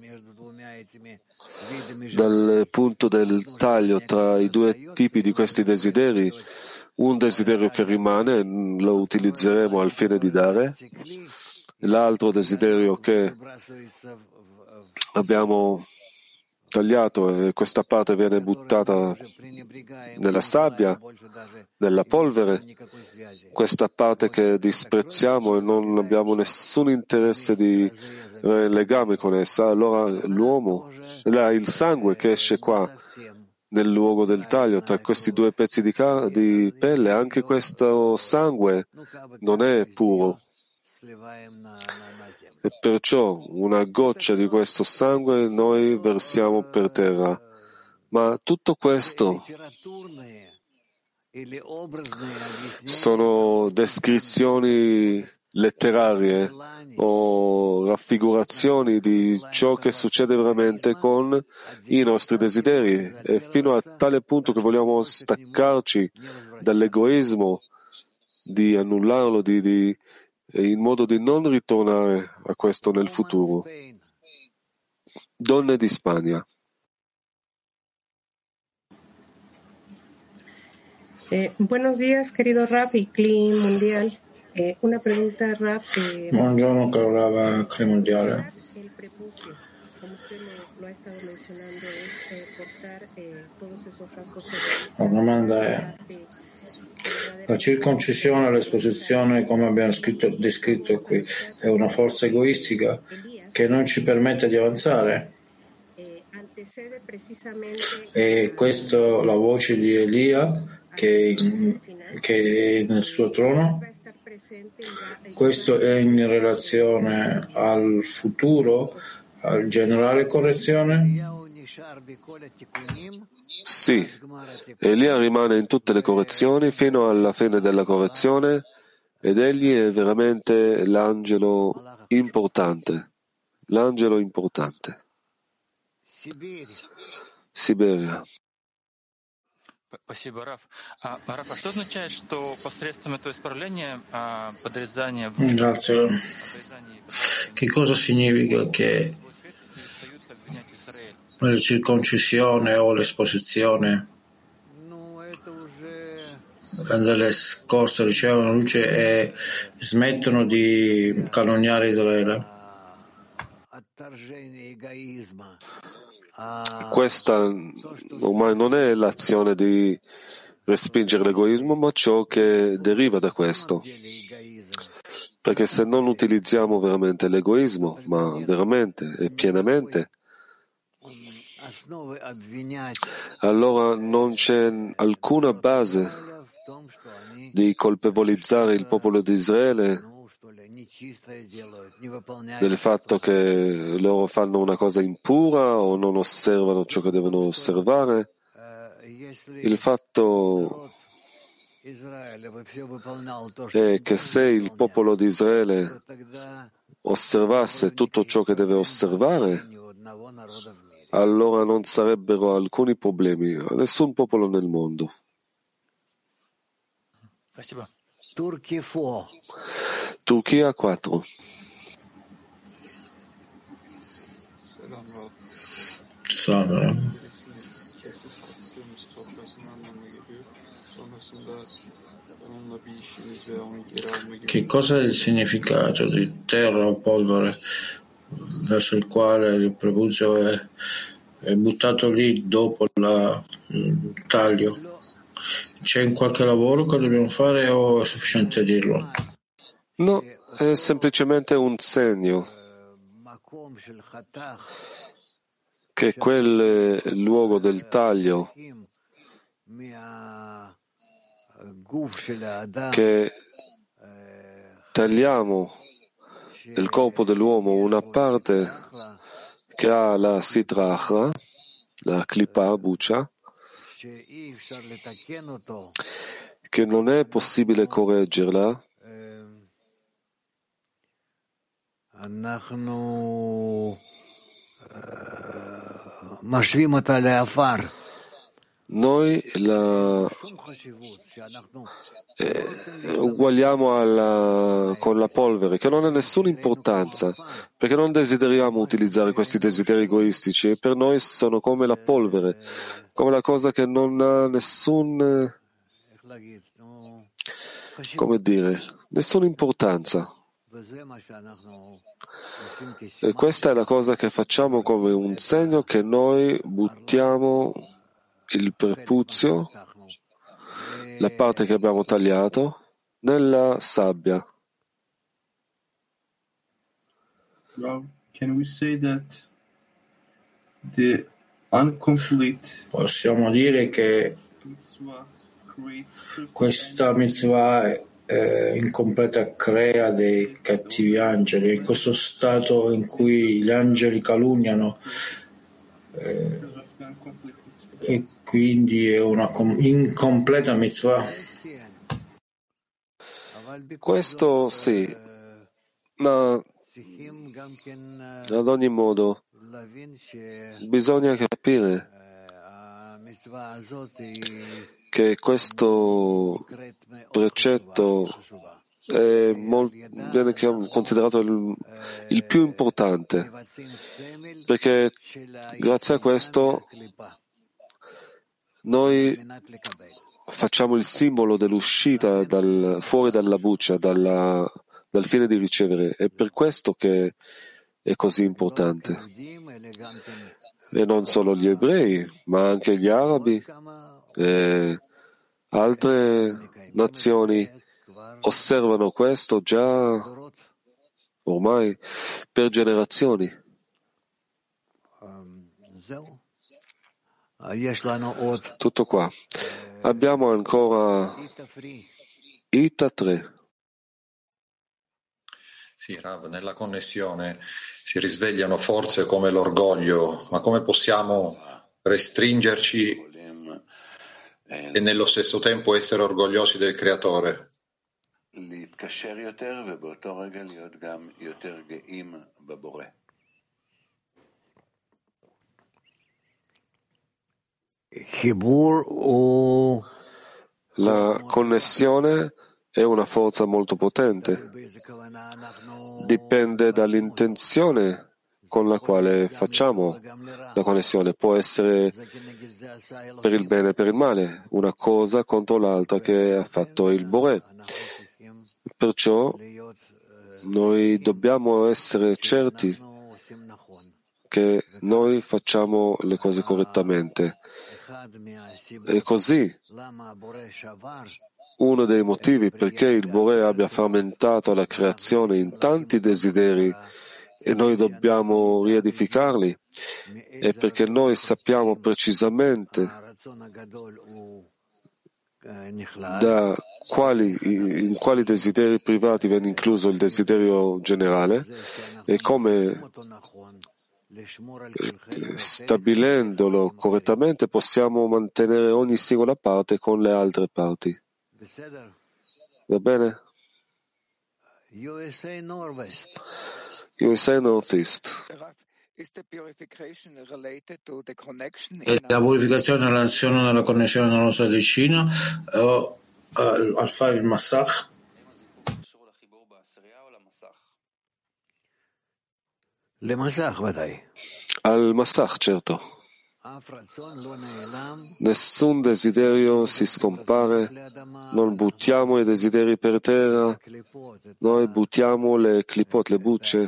dal punto del taglio tra i due tipi di questi desideri, un desiderio che rimane, lo utilizzeremo al fine di dare, l'altro desiderio che abbiamo tagliato e questa parte viene buttata nella sabbia, nella polvere, questa parte che disprezziamo e non abbiamo nessun interesse di eh, legame con essa, allora l'uomo, là, il sangue che esce qua nel luogo del taglio tra questi due pezzi di, ca- di pelle, anche questo sangue non è puro. E perciò una goccia di questo sangue noi versiamo per terra. Ma tutto questo sono descrizioni letterarie o raffigurazioni di ciò che succede veramente con i nostri desideri, e fino a tale punto che vogliamo staccarci dall'egoismo, di annullarlo, di, di in modo di non ritornare a questo nel futuro. Donne di Spagna. Eh, buenos días, querido Raf y Cli Mundial. Eh, una pregunta, Raf. Eh, Buongiorno, caro Rav Cli Mondiale. El prepucio, como usted lo, lo ha estado mencionando, es eh, portar eh, todos esos rasgos. La domanda è: la circoncisione, l'esposizione, come abbiamo scritto, descritto qui, è una forza egoistica che non ci permette di avanzare? E questo la voce di Elia che, che è nel suo trono? Questo è in relazione al futuro, al generale correzione? Sì, Elia rimane in tutte le correzioni fino alla fine della correzione ed egli è veramente l'angelo importante, l'angelo importante. Siberia. Спасибо, Раф. А, Раф, а что означает, что посредством этого исправления подрезания в Grazie. Che cosa significa che la circoncisione o l'esposizione delle scorse ricevono luce e smettono di calunniare Israele? Questa ormai non è l'azione di respingere l'egoismo, ma ciò che deriva da questo. Perché se non utilizziamo veramente l'egoismo, ma veramente e pienamente, allora non c'è alcuna base di colpevolizzare il popolo di Israele del fatto che loro fanno una cosa impura o non osservano ciò che devono osservare. Il fatto è che se il popolo di Israele osservasse tutto ciò che deve osservare, allora non sarebbero alcuni problemi a nessun popolo nel mondo. Turchia quattro. Che cosa è il significato di terra o polvere verso il quale il prepuzio è, è buttato lì dopo la, il taglio? C'è un qualche lavoro che dobbiamo fare o è sufficiente dirlo? No, è semplicemente un segno che quel luogo del taglio che tagliamo del corpo dell'uomo una parte che ha la sitra achra, la clipa, buccia, che non è possibile correggerla, noi la eh, uguagliamo alla, con la polvere, che non ha nessuna importanza, perché non desideriamo utilizzare questi desideri egoistici, e per noi sono come la polvere, come la cosa che non ha nessun, come dire, nessuna importanza. E questa è la cosa che facciamo come un segno che noi buttiamo il prepuzio, la parte che abbiamo tagliato, nella sabbia. Can we say that the incomplete Possiamo dire che questa mitzvah eh, incompleta crea dei cattivi angeli, in questo stato in cui gli angeli calunniano eh, e quindi è una com- incompleta mitzvah. Questo sì, ma ad ogni modo bisogna capire che questo precetto è molto, viene considerato il, il più importante, perché grazie a questo noi facciamo il simbolo dell'uscita dal, fuori dalla buccia, dalla, dal fine di ricevere. È per questo che è così importante. E non solo gli ebrei, ma anche gli arabi e altre nazioni osservano questo già ormai per generazioni. Tutto qua. Abbiamo ancora Ita tre. Sì, Rav, nella connessione si risvegliano forze come l'orgoglio, ma come possiamo restringerci e nello stesso tempo essere orgogliosi del Creatore? La connessione è una forza molto potente. Dipende dall'intenzione con la quale facciamo la connessione. Può essere per il bene e per il male, una cosa contro l'altra che ha fatto il Boré. Perciò noi dobbiamo essere certi che noi facciamo le cose correttamente. E così, uno dei motivi perché il Boré abbia frammentato la creazione in tanti desideri e noi dobbiamo riedificarli è perché noi sappiamo precisamente da quali, in quali desideri privati viene incluso il desiderio generale e come, stabilendolo correttamente, possiamo mantenere ogni singola parte con le altre parti. Va bene? U S A Northeast. E la purificazione in relazione alla connessione nella nostra decina o al, al fare il massach? Al massach, certo. Nessun desiderio si scompare, non buttiamo i desideri per terra, noi buttiamo le clipot, le bucce,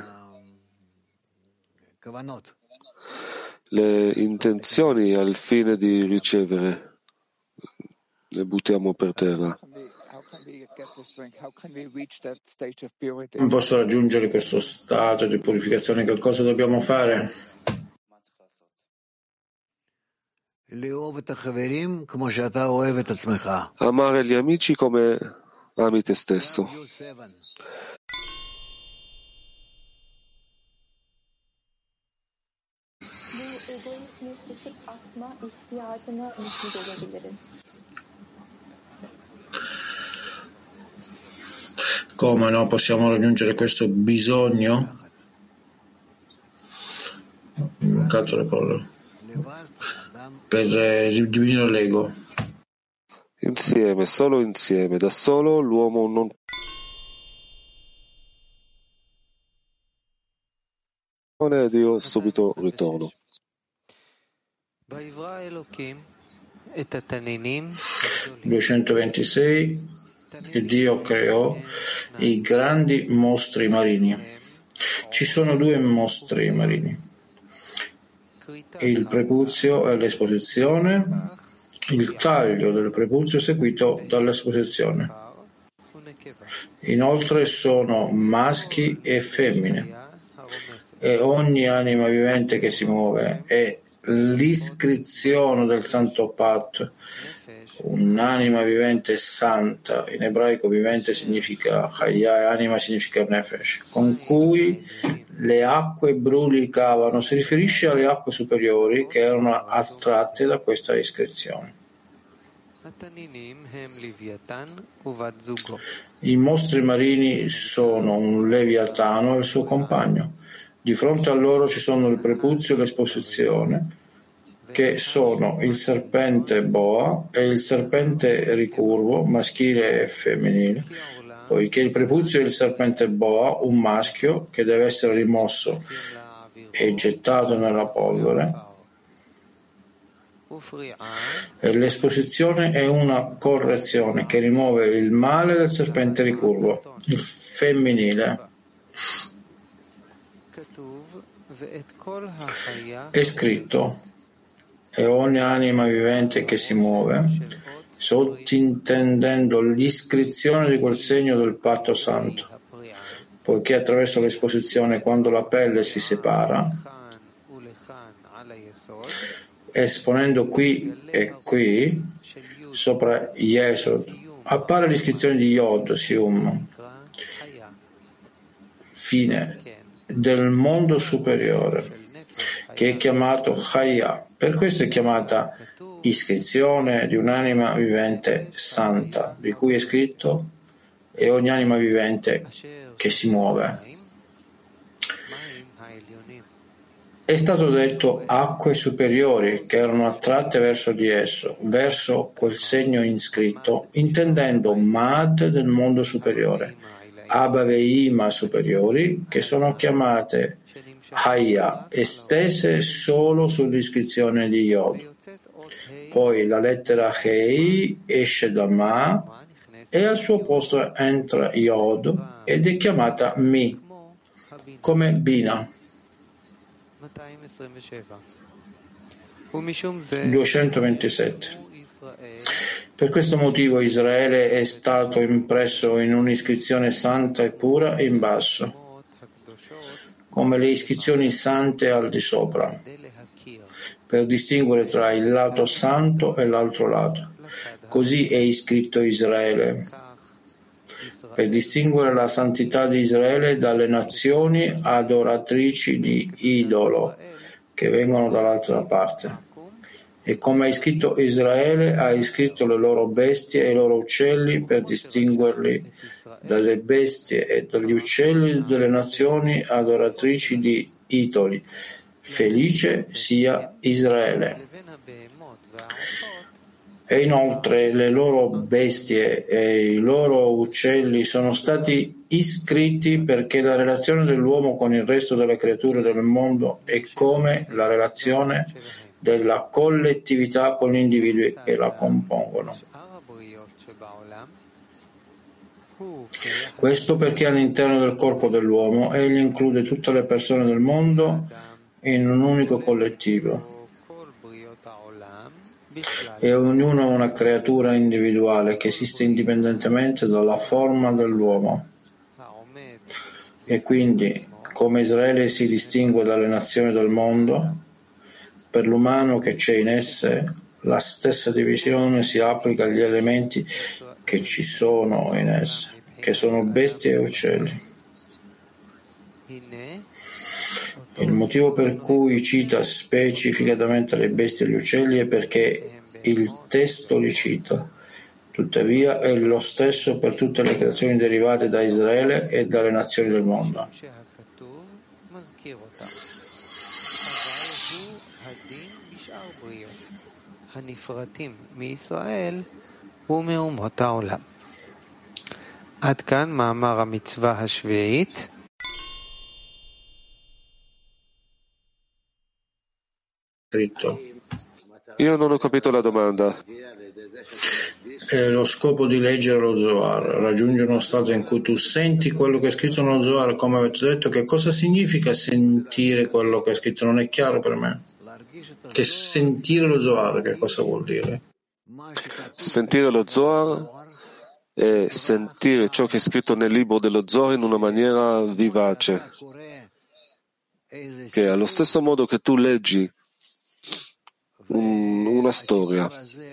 le intenzioni al fine di ricevere, le buttiamo per terra. Non posso raggiungere questo stato di purificazione, che cosa dobbiamo fare? Amare gli amici come ami te stesso. Come no possiamo raggiungere questo bisogno? Le parole. Per diminuire l'ego. Insieme, solo insieme, da solo l'uomo non ed io subito ritorno. duecentoventisei. E Dio creò i grandi mostri marini. Ci sono due mostri marini: il prepuzio e l'esposizione, il taglio del prepuzio seguito dall'esposizione. Inoltre sono maschi e femmine, e ogni anima vivente che si muove è l'iscrizione del santo patto. Un'anima vivente santa, in ebraico vivente significa Chaya e anima significa Nefesh, con cui le acque brulicavano, si riferisce alle acque superiori che erano attratte da questa iscrizione. I mostri marini sono un leviatano e il suo compagno. Di fronte a loro ci sono il prepuzio e l'esposizione, che sono il serpente boa e il serpente ricurvo, maschile e femminile, poiché il prepuzio è il serpente boa, un maschio che deve essere rimosso e gettato nella polvere, e l'esposizione è una correzione che rimuove il male del serpente ricurvo, il femminile. È scritto: e ogni anima vivente che si muove, sottintendendo l'iscrizione di quel segno del patto santo, poiché attraverso l'esposizione, quando la pelle si separa, esponendo qui e qui, sopra Yesod, appare l'iscrizione di Yod, Sium, fine del mondo superiore, che è chiamato Chaya. Per questo è chiamata iscrizione di un'anima vivente santa, di cui è scritto: e ogni anima vivente che si muove. È stato detto acque superiori che erano attratte verso di esso, verso quel segno inscritto, intendendo Mad del mondo superiore, Abba Veima superiori, che sono chiamate Haya, estese solo sull'iscrizione di Yod. Poi la lettera Hei esce da Ma e al suo posto entra Yod ed è chiamata Mi, come Bina. duecentoventisette. Per questo motivo Israele è stato impresso in un'iscrizione santa e pura in basso, come le iscrizioni sante al di sopra, per distinguere tra il lato santo e l'altro lato. Così è iscritto Israele, per distinguere la santità di Israele dalle nazioni adoratrici di idolo che vengono dall'altra parte. E come ha iscritto Israele, ha iscritto le loro bestie e i loro uccelli per distinguerli dalle bestie e dagli uccelli delle nazioni adoratrici di idoli. Felice sia Israele. E inoltre le loro bestie e i loro uccelli sono stati iscritti perché la relazione dell'uomo con il resto delle creature del mondo è come la relazione della collettività con gli individui che la compongono. Questo perché all'interno del corpo dell'uomo egli include tutte le persone del mondo in un unico collettivo e ognuno è una creatura individuale che esiste indipendentemente dalla forma dell'uomo. E quindi, come Israele si distingue dalle nazioni del mondo, per l'umano che c'è in esse, la stessa divisione si applica agli elementi che ci sono in esse, che sono bestie e uccelli. Il motivo per cui cita specificatamente le bestie e gli uccelli è perché il testo li cita. Tuttavia è lo stesso per tutte le creazioni derivate da Israele e dalle nazioni del mondo. עד כאן מאמר המצווה השביעית. Io non ho capito la domanda. È lo scopo di leggere lo Zohar, raggiungere uno stato in cui tu senti quello che è scritto nello Zohar, come avete detto. Che cosa significa sentire quello che è scritto? Non è chiaro per me. Che sentire lo Zohar, che cosa vuol dire? Sentire lo Zohar è sentire ciò che è scritto nel libro dello Zohar in una maniera vivace, che allo stesso modo che tu leggi un, una storia,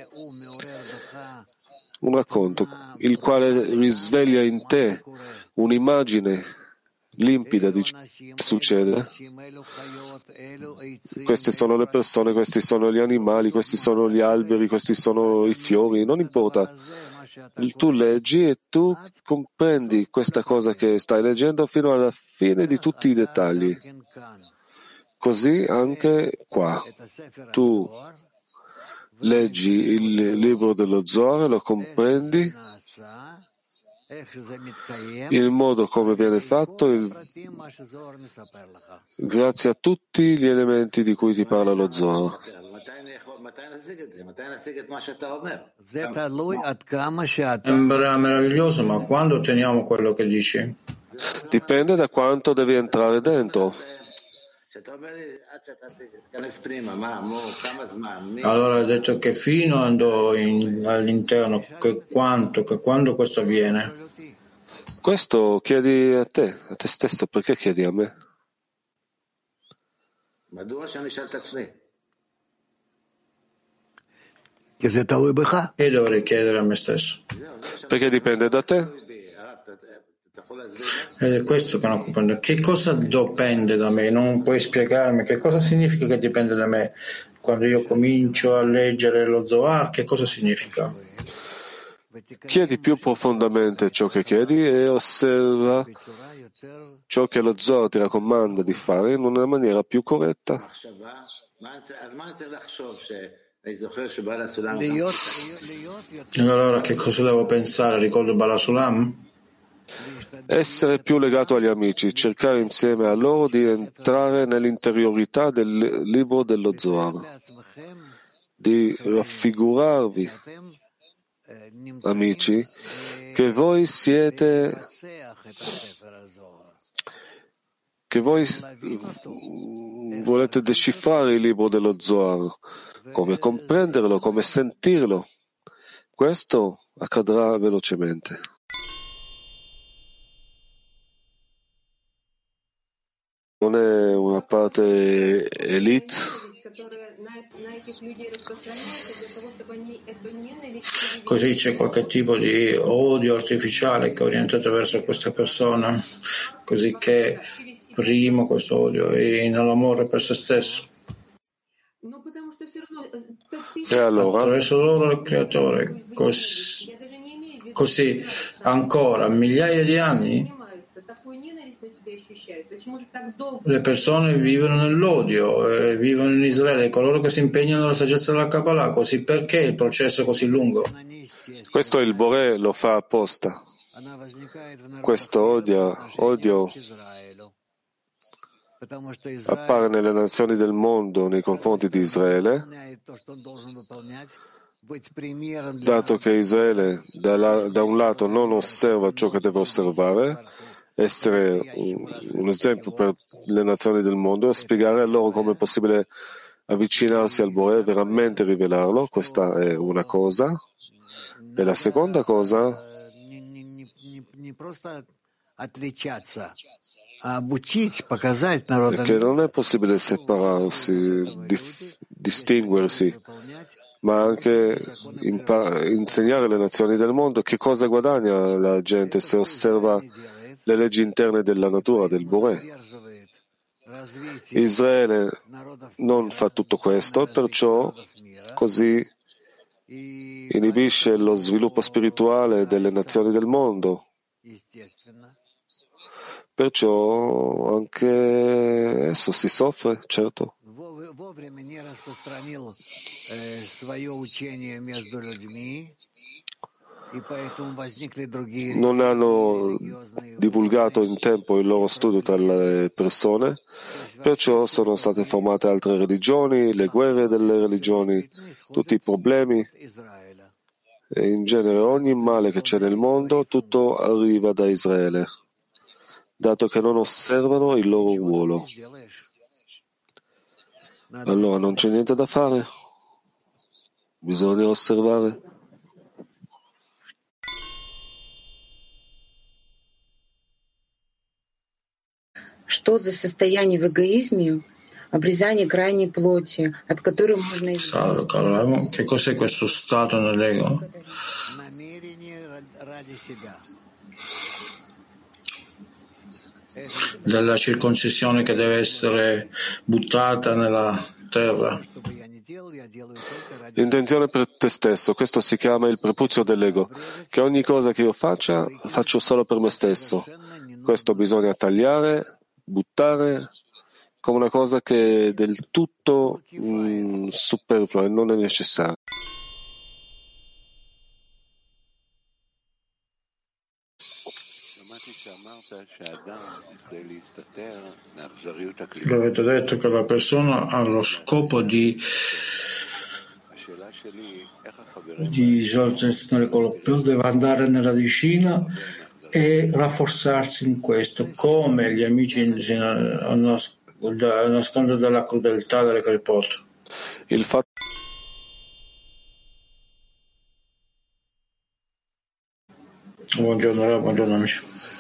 un racconto, il quale risveglia in te un'immagine limpida di ciò che succede. Queste sono le persone, questi sono gli animali, questi sono gli alberi, questi sono i fiori, non importa. Tu leggi e tu comprendi questa cosa che stai leggendo fino alla fine di tutti i dettagli. Così anche qua. Tu leggi il libro dello Zohar, lo comprendi, il modo come viene fatto, il... grazie a tutti gli elementi di cui ti parla lo Zohar. Sembra meraviglioso, ma quando otteniamo quello che dici? Dipende da quanto devi entrare dentro. Allora hai detto che fino andò in, all'interno, che quanto, che quando questo avviene? Questo chiedi a te, a te stesso, perché chiedi a me? E dovrei chiedere a me stesso. Perché dipende da te. Ed è questo che non comprendo. Che cosa dipende da me? Non puoi spiegarmi che cosa significa che dipende da me? Quando io comincio a leggere lo Zohar, che cosa significa? Chiedi più profondamente ciò che chiedi e osserva ciò che lo Zohar ti raccomanda di fare in una maniera più corretta. Allora che cosa devo pensare? Ricordo Balasulam? Essere più legato agli amici, cercare insieme a loro di entrare nell'interiorità del libro dello Zohar, di raffigurarvi, amici, che voi siete, che voi volete decifrare il libro dello Zohar, come comprenderlo, come sentirlo. Questo accadrà velocemente. Non è una parte elite. Così c'è qualche tipo di odio artificiale che è orientato verso queste persone, così che primo questo odio e nell'amore per se stesso. E allora? Attraverso loro il creatore, così, così ancora migliaia di anni le persone vivono nell'odio, eh, vivono in Israele, coloro che si impegnano nella saggezza della Kabbalah, così perché il processo è così lungo? Questo il Boré lo fa apposta. Questo odio, odio appare nelle nazioni del mondo nei confronti di Israele, dato che Israele da, la, da un lato non osserva ciò che deve osservare, essere un, un esempio per le nazioni del mondo e spiegare a loro come è possibile avvicinarsi al Bore e veramente rivelarlo. Questa è una cosa. E la seconda cosa è che non è possibile separarsi, dif- distinguersi, ma anche impar- insegnare alle nazioni del mondo che cosa guadagna la gente se osserva le leggi interne della natura, del Boré. Israele non fa tutto questo, perciò così inibisce lo sviluppo spirituale delle nazioni del mondo. Perciò anche esso si soffre, certo. Non hanno divulgato in tempo il loro studio tra le persone, perciò sono state formate altre religioni, le guerre delle religioni, tutti i problemi e in genere ogni male che c'è nel mondo, tutto arriva da Israele, dato che non osservano il loro ruolo. Allora non c'è niente da fare, bisogna osservare. Что за состояние в эгоизме, обрезание крайней плоти, от которой можно Salve, caro. Che cos'è questo stato nell'ego? Della circoncisione che deve essere buttata nella terra. L'intenzione per te stesso, questo si chiama il prepuzio dell'ego, che ogni cosa che io faccia, faccio solo per me stesso. Questo bisogna tagliare, buttare, come una cosa che è del tutto mm, superflua e non è necessaria. Avete detto che la persona ha lo scopo di di risolvere quello, deve andare nella radicina e rafforzarsi in questo, come gli amici nascondono dalla crudeltà delle clipot. Il fatto Buongiorno, buongiorno amici.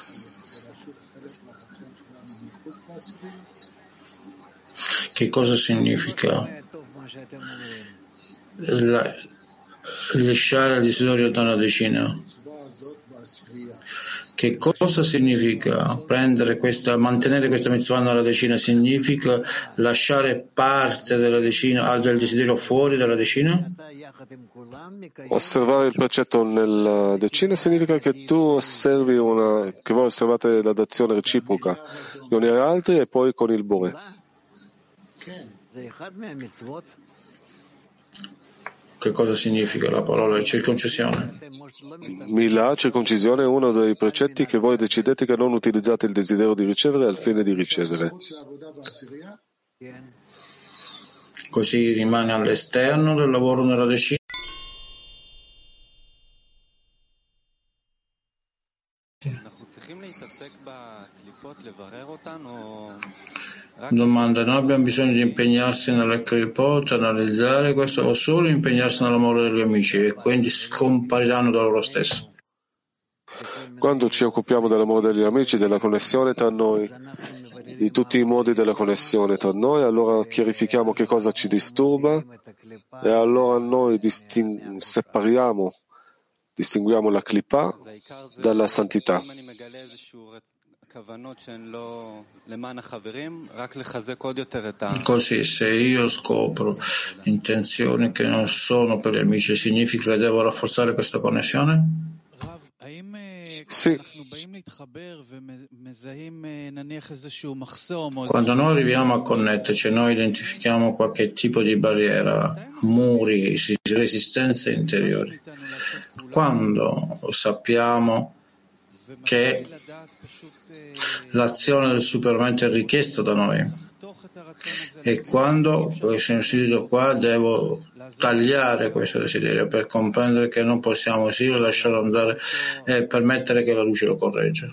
Che cosa significa la, lasciare il desiderio da una decina? Che cosa significa prendere questa, mantenere questa mitzvah nella decina? Significa lasciare parte della decina, del desiderio fuori dalla decina? Osservare il precetto nella decina significa che tu osservi una, che voi osservate la dazione reciproca con gli altri e poi con il Bore. Che cosa significa la parola circoncisione? Mila, circoncisione, è uno dei precetti che voi decidete che non utilizzate il desiderio di ricevere al fine di ricevere. Così rimane all'esterno del lavoro nella decina. Domanda, noi abbiamo bisogno di impegnarsi nelle clipot, analizzare questo, o solo impegnarsi nell'amore degli amici e quindi scompariranno da loro stessi? Quando ci occupiamo dell'amore degli amici, della connessione tra noi, di tutti i modi della connessione tra noi, allora chiarifichiamo che cosa ci disturba e allora noi disting- separiamo, distinguiamo la clipa dalla santità. Così, se io scopro intenzioni che non sono per gli amici, significa che devo rafforzare questa connessione? Sì. Quando noi arriviamo a connetterci, noi identifichiamo qualche tipo di barriera, muri, resistenze interiori. Quando sappiamo che l'azione del superamento è richiesta da noi, E quando sono istituito qua devo tagliare questo desiderio per comprendere che non possiamo sì lasciarlo andare e permettere che la luce lo corregga.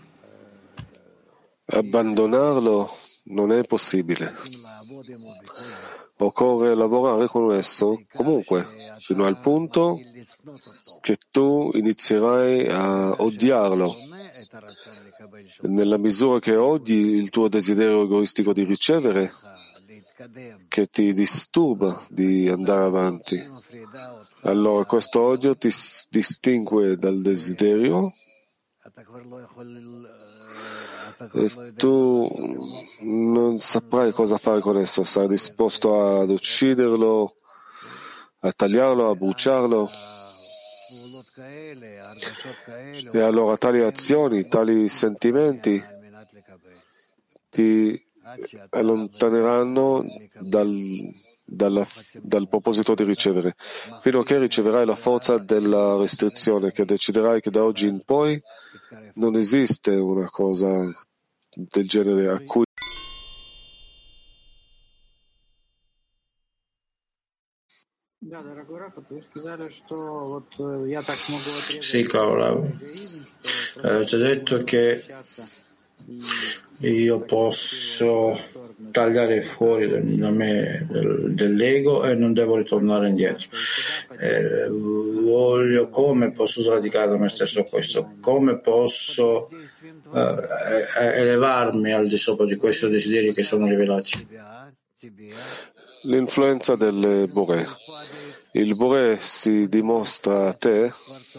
Abbandonarlo non è possibile. Occorre lavorare con esso comunque, fino al punto che tu inizierai a odiarlo. Nella misura che odi il tuo desiderio egoistico di ricevere, che ti disturba di andare avanti, allora questo odio ti distingue dal desiderio e tu non saprai cosa fare con esso, sarai disposto ad ucciderlo, a tagliarlo, a bruciarlo. E allora tali azioni, tali sentimenti ti allontaneranno dal, dalla, dal proposito di ricevere, fino a che riceverai la forza della restrizione, che deciderai che da oggi in poi non esiste una cosa del genere a cui Sì, caro, eh, ti ho detto che io posso tagliare fuori da me del, dell'ego e non devo ritornare indietro. Eh, voglio, come posso sradicare da me stesso questo? Come posso eh, elevarmi al di sopra di questi desideri che sono rivelati? L'influenza del Boré. Il Boré si dimostra a te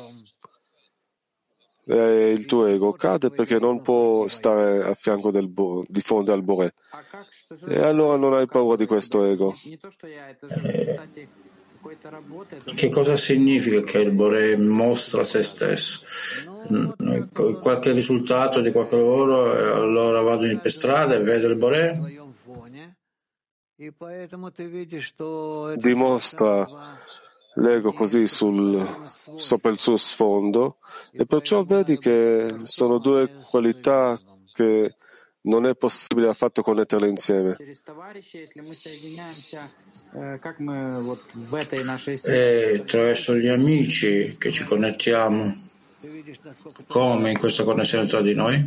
e il tuo ego cade perché non può stare a fianco del bo- di fronte al Boré. E allora non hai paura di questo ego. Eh, che cosa significa che il Boré mostra se stesso? Qualche risultato di qualche lavoro e allora vado per strada e vedo il Boré? Dimostra l'ego così sul, sopra il suo sfondo e perciò vedi che sono due qualità che non è possibile affatto connetterle insieme. E attraverso gli amici che ci connettiamo, come in questa connessione tra di noi?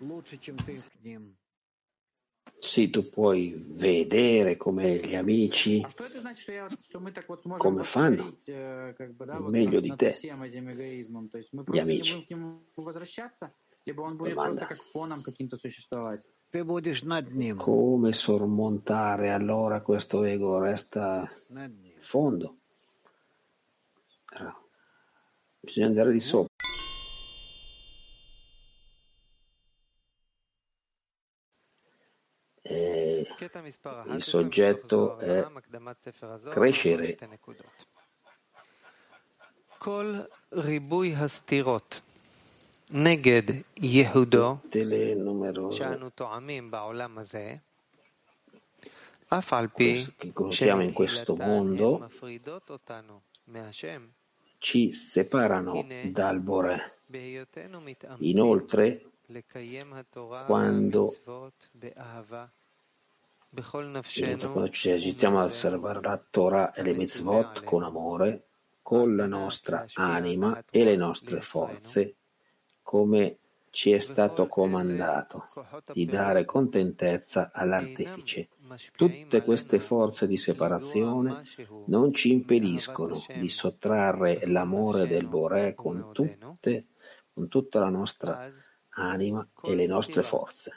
Sì, tu puoi vedere come gli amici come fanno meglio di te. Gli amici. Domanda. Come sormontare allora questo ego? Resta in fondo. Bisogna andare di sopra. E il soggetto è crescere. Tutte le numerose che conosciamo in questo mondo ci separano dal Boré. Inoltre, quando, quando ci esercitiamo a osservare la Torah e le mitzvot con amore, con la nostra anima e le nostre forze, come ci è stato comandato di dare contentezza all'artefice. Tutte queste forze di separazione non ci impediscono di sottrarre l'amore del Boré con, tutte, con tutta la nostra anima e le nostre forze.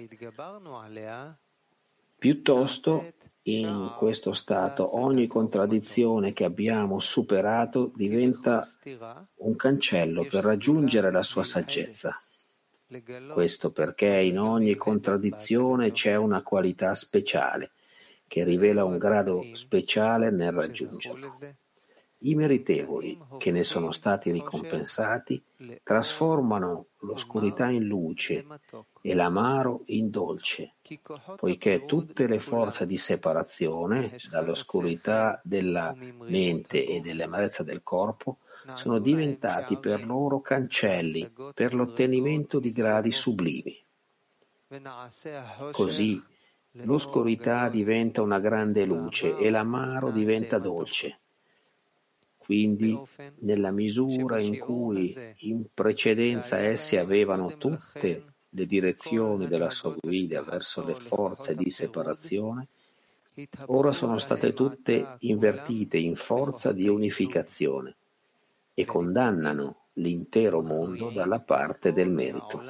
Piuttosto, in questo stato, ogni contraddizione che abbiamo superato diventa un cancello per raggiungere la sua saggezza. Questo perché in ogni contraddizione c'è una qualità speciale che rivela un grado speciale nel raggiungerlo. I meritevoli, che ne sono stati ricompensati, trasformano l'oscurità in luce e l'amaro in dolce, poiché tutte le forze di separazione dall'oscurità della mente e dell'amarezza del corpo sono diventati per loro cancelli per l'ottenimento di gradi sublimi. Così l'oscurità diventa una grande luce e l'amaro diventa dolce. Quindi, nella misura in cui in precedenza essi avevano tutte le direzioni della sua guida verso le forze di separazione, ora sono state tutte invertite in forza di unificazione e condannano l'intero mondo dalla parte del merito.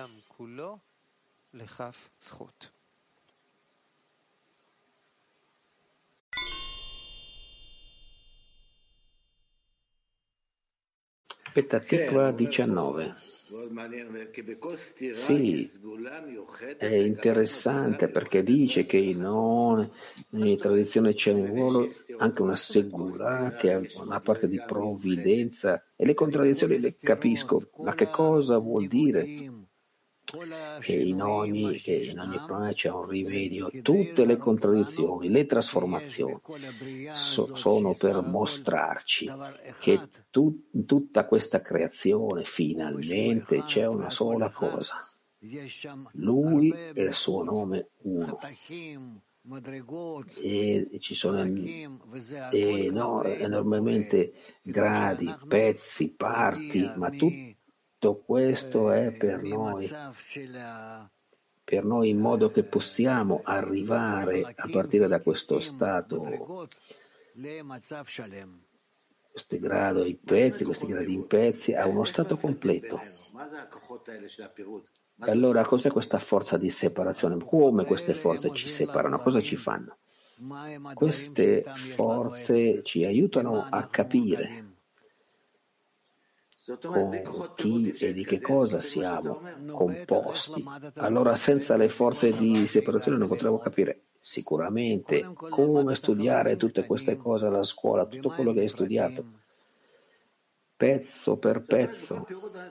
Petah Tikva diciannove. Sì, è interessante perché dice che in ogni tradizione c'è un ruolo, anche una segula, che è una parte di provvidenza, e le contraddizioni le capisco, ma che cosa vuol dire? Che in ogni, che in ogni problema c'è un rimedio. Tutte le contraddizioni, le trasformazioni so, sono per mostrarci che tu, in tutta questa creazione finalmente c'è una sola cosa. Lui e il suo nome uno. E ci sono e, no, enormemente gradi, pezzi, parti, ma tutto Tutto questo è per noi, per noi in modo che possiamo arrivare a partire da questo stato, questo grado di pezzi, questi gradi in pezzi, a uno stato completo. Allora, cos'è questa forza di separazione? Come queste forze ci separano? Cosa ci fanno? Queste forze ci aiutano a capire con chi e di che cosa siamo composti. Allora, senza le forze di separazione non potremo capire sicuramente come studiare tutte queste cose alla scuola, tutto quello che hai studiato, pezzo per pezzo.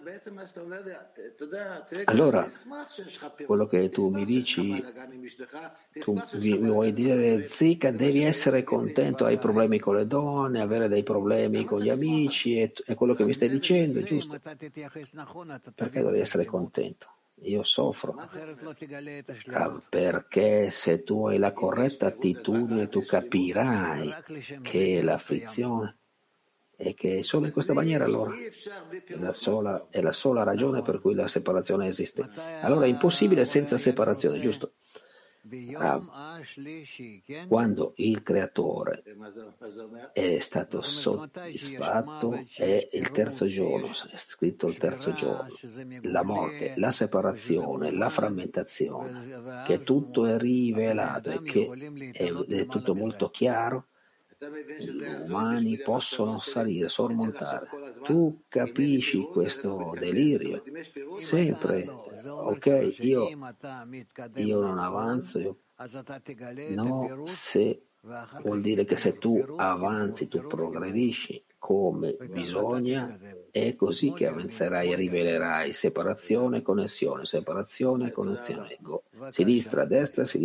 Allora, quello che tu mi dici, tu mi vuoi dire, Zika, devi essere contento, hai problemi con le donne, avere dei problemi con gli amici, è, è quello che mi stai dicendo, giusto? Perché devi essere contento? Io soffro. Ah, perché se tu hai la corretta attitudine, tu capirai che l'afflizione e che solo in questa maniera allora è la, sola, è la sola ragione per cui la separazione esiste. Allora è impossibile senza separazione, giusto? Ah, quando il creatore è stato soddisfatto è il terzo giorno, è scritto il terzo giorno, la morte, la separazione, la frammentazione, che tutto è rivelato e che è, è tutto molto chiaro. Gli umani possono salire, sormontare. Tu capisci questo delirio? Sempre, ok, io, io non avanzo, io, no, se vuol dire che se tu avanzi, tu progredisci come bisogna, è così che avanzerai e rivelerai separazione, connessione, separazione, connessione, sinistra, destra, sinistra.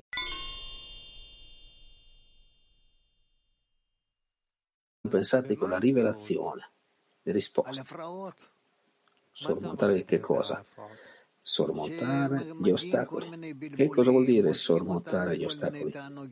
Pensate con la rivelazione, le risposte. Sormontare che cosa? Sormontare gli ostacoli. Che cosa vuol dire sormontare gli ostacoli?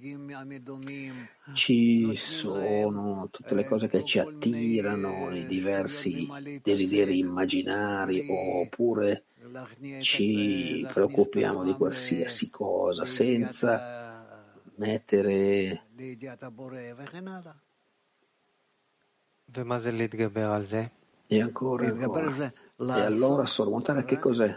Ci sono tutte le cose che ci attirano, i diversi desideri immaginari, oppure ci preoccupiamo di qualsiasi cosa senza mettere E ancora, ancora. E allora sormontare che cos'è?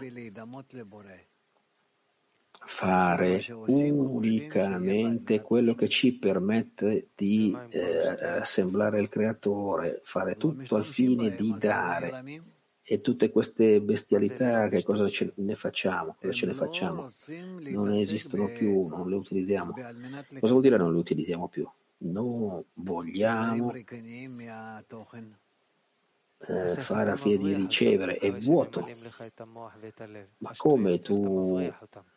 Fare unicamente quello che ci permette di eh, assemblare il creatore, fare tutto al fine di dare. E tutte queste bestialità, che cosa ce ne facciamo? Cosa ce ne facciamo? Non esistono più, non le utilizziamo. Cosa vuol dire non le utilizziamo più? Non vogliamo eh, fare a fine di ricevere, è vuoto. Ma come tu,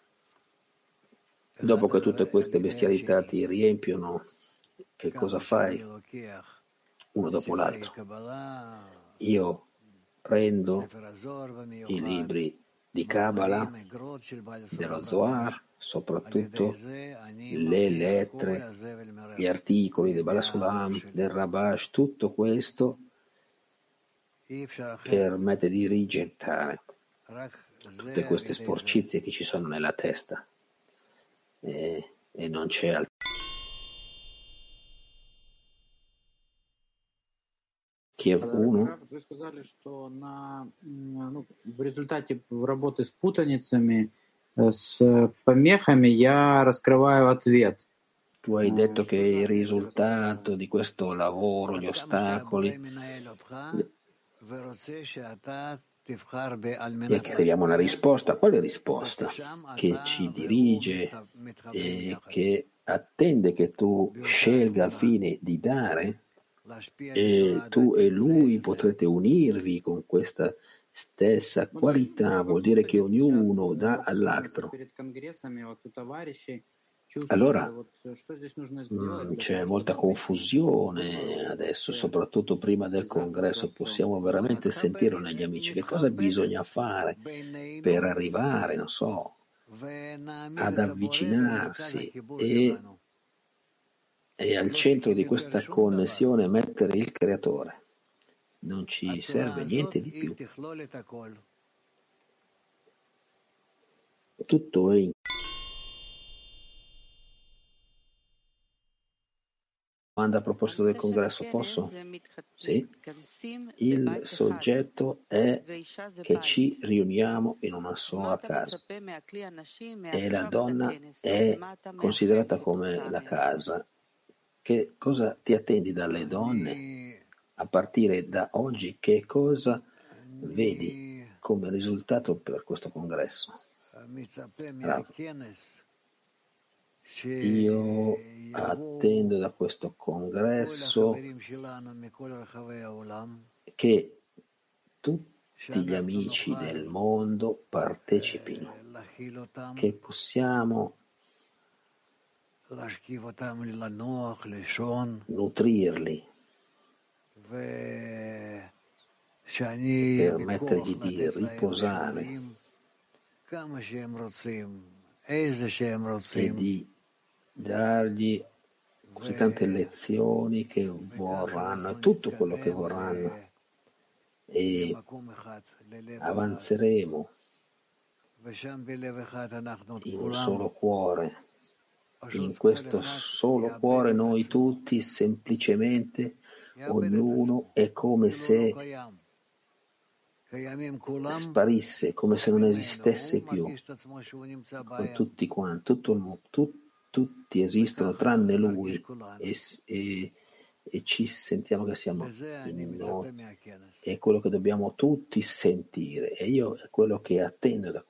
dopo che tutte queste bestialità ti riempiono, che cosa fai? Uno dopo l'altro. Io prendo i libri di Kabbalah, dello Zohar, soprattutto le lettere, gli articoli del Balasulam, del Rabash, tutto questo permette di rigettare tutte queste sporcizie che ci sono nella testa e, e non c'è altro. Kiev uno. Вы сказали, что на, ну, в результате работы с путаницами, с помехами я раскрываю ответ. Tu hai detto che il risultato di questo lavoro, gli ostacoli, e che arriviamo alla risposta. Quale risposta? Che ci dirige e che attende che tu scelga al fine di dare, e tu e lui potrete unirvi con questa stessa qualità, vuol dire che ognuno dà all'altro. Allora mh, c'è molta confusione adesso, soprattutto prima del congresso. Possiamo veramente sentire negli amici che cosa bisogna fare per arrivare, non so, ad avvicinarsi e, e al centro di questa connessione mettere il creatore. Non ci serve niente di più. Tutto è in domanda a proposito del congresso, posso? Sì. Il soggetto è che ci riuniamo in una sola casa e la donna è considerata come la casa. Che cosa ti attendi dalle donne? A partire da oggi, che cosa vedi come risultato per questo congresso? Bravo. Io attendo da questo congresso che tutti gli amici del mondo partecipino, che possiamo nutrirli, permettergli di riposare e di dargli così tante lezioni che vorranno e tutto quello che vorranno, e avanzeremo in un solo cuore. In questo solo cuore noi tutti semplicemente, ognuno è come se sparisse, come se non esistesse più, con tutti quanti, tutto, tu, tutti esistono tranne lui, e, e, e ci sentiamo che siamo in noi. È quello che dobbiamo tutti sentire, e io è quello che attendo da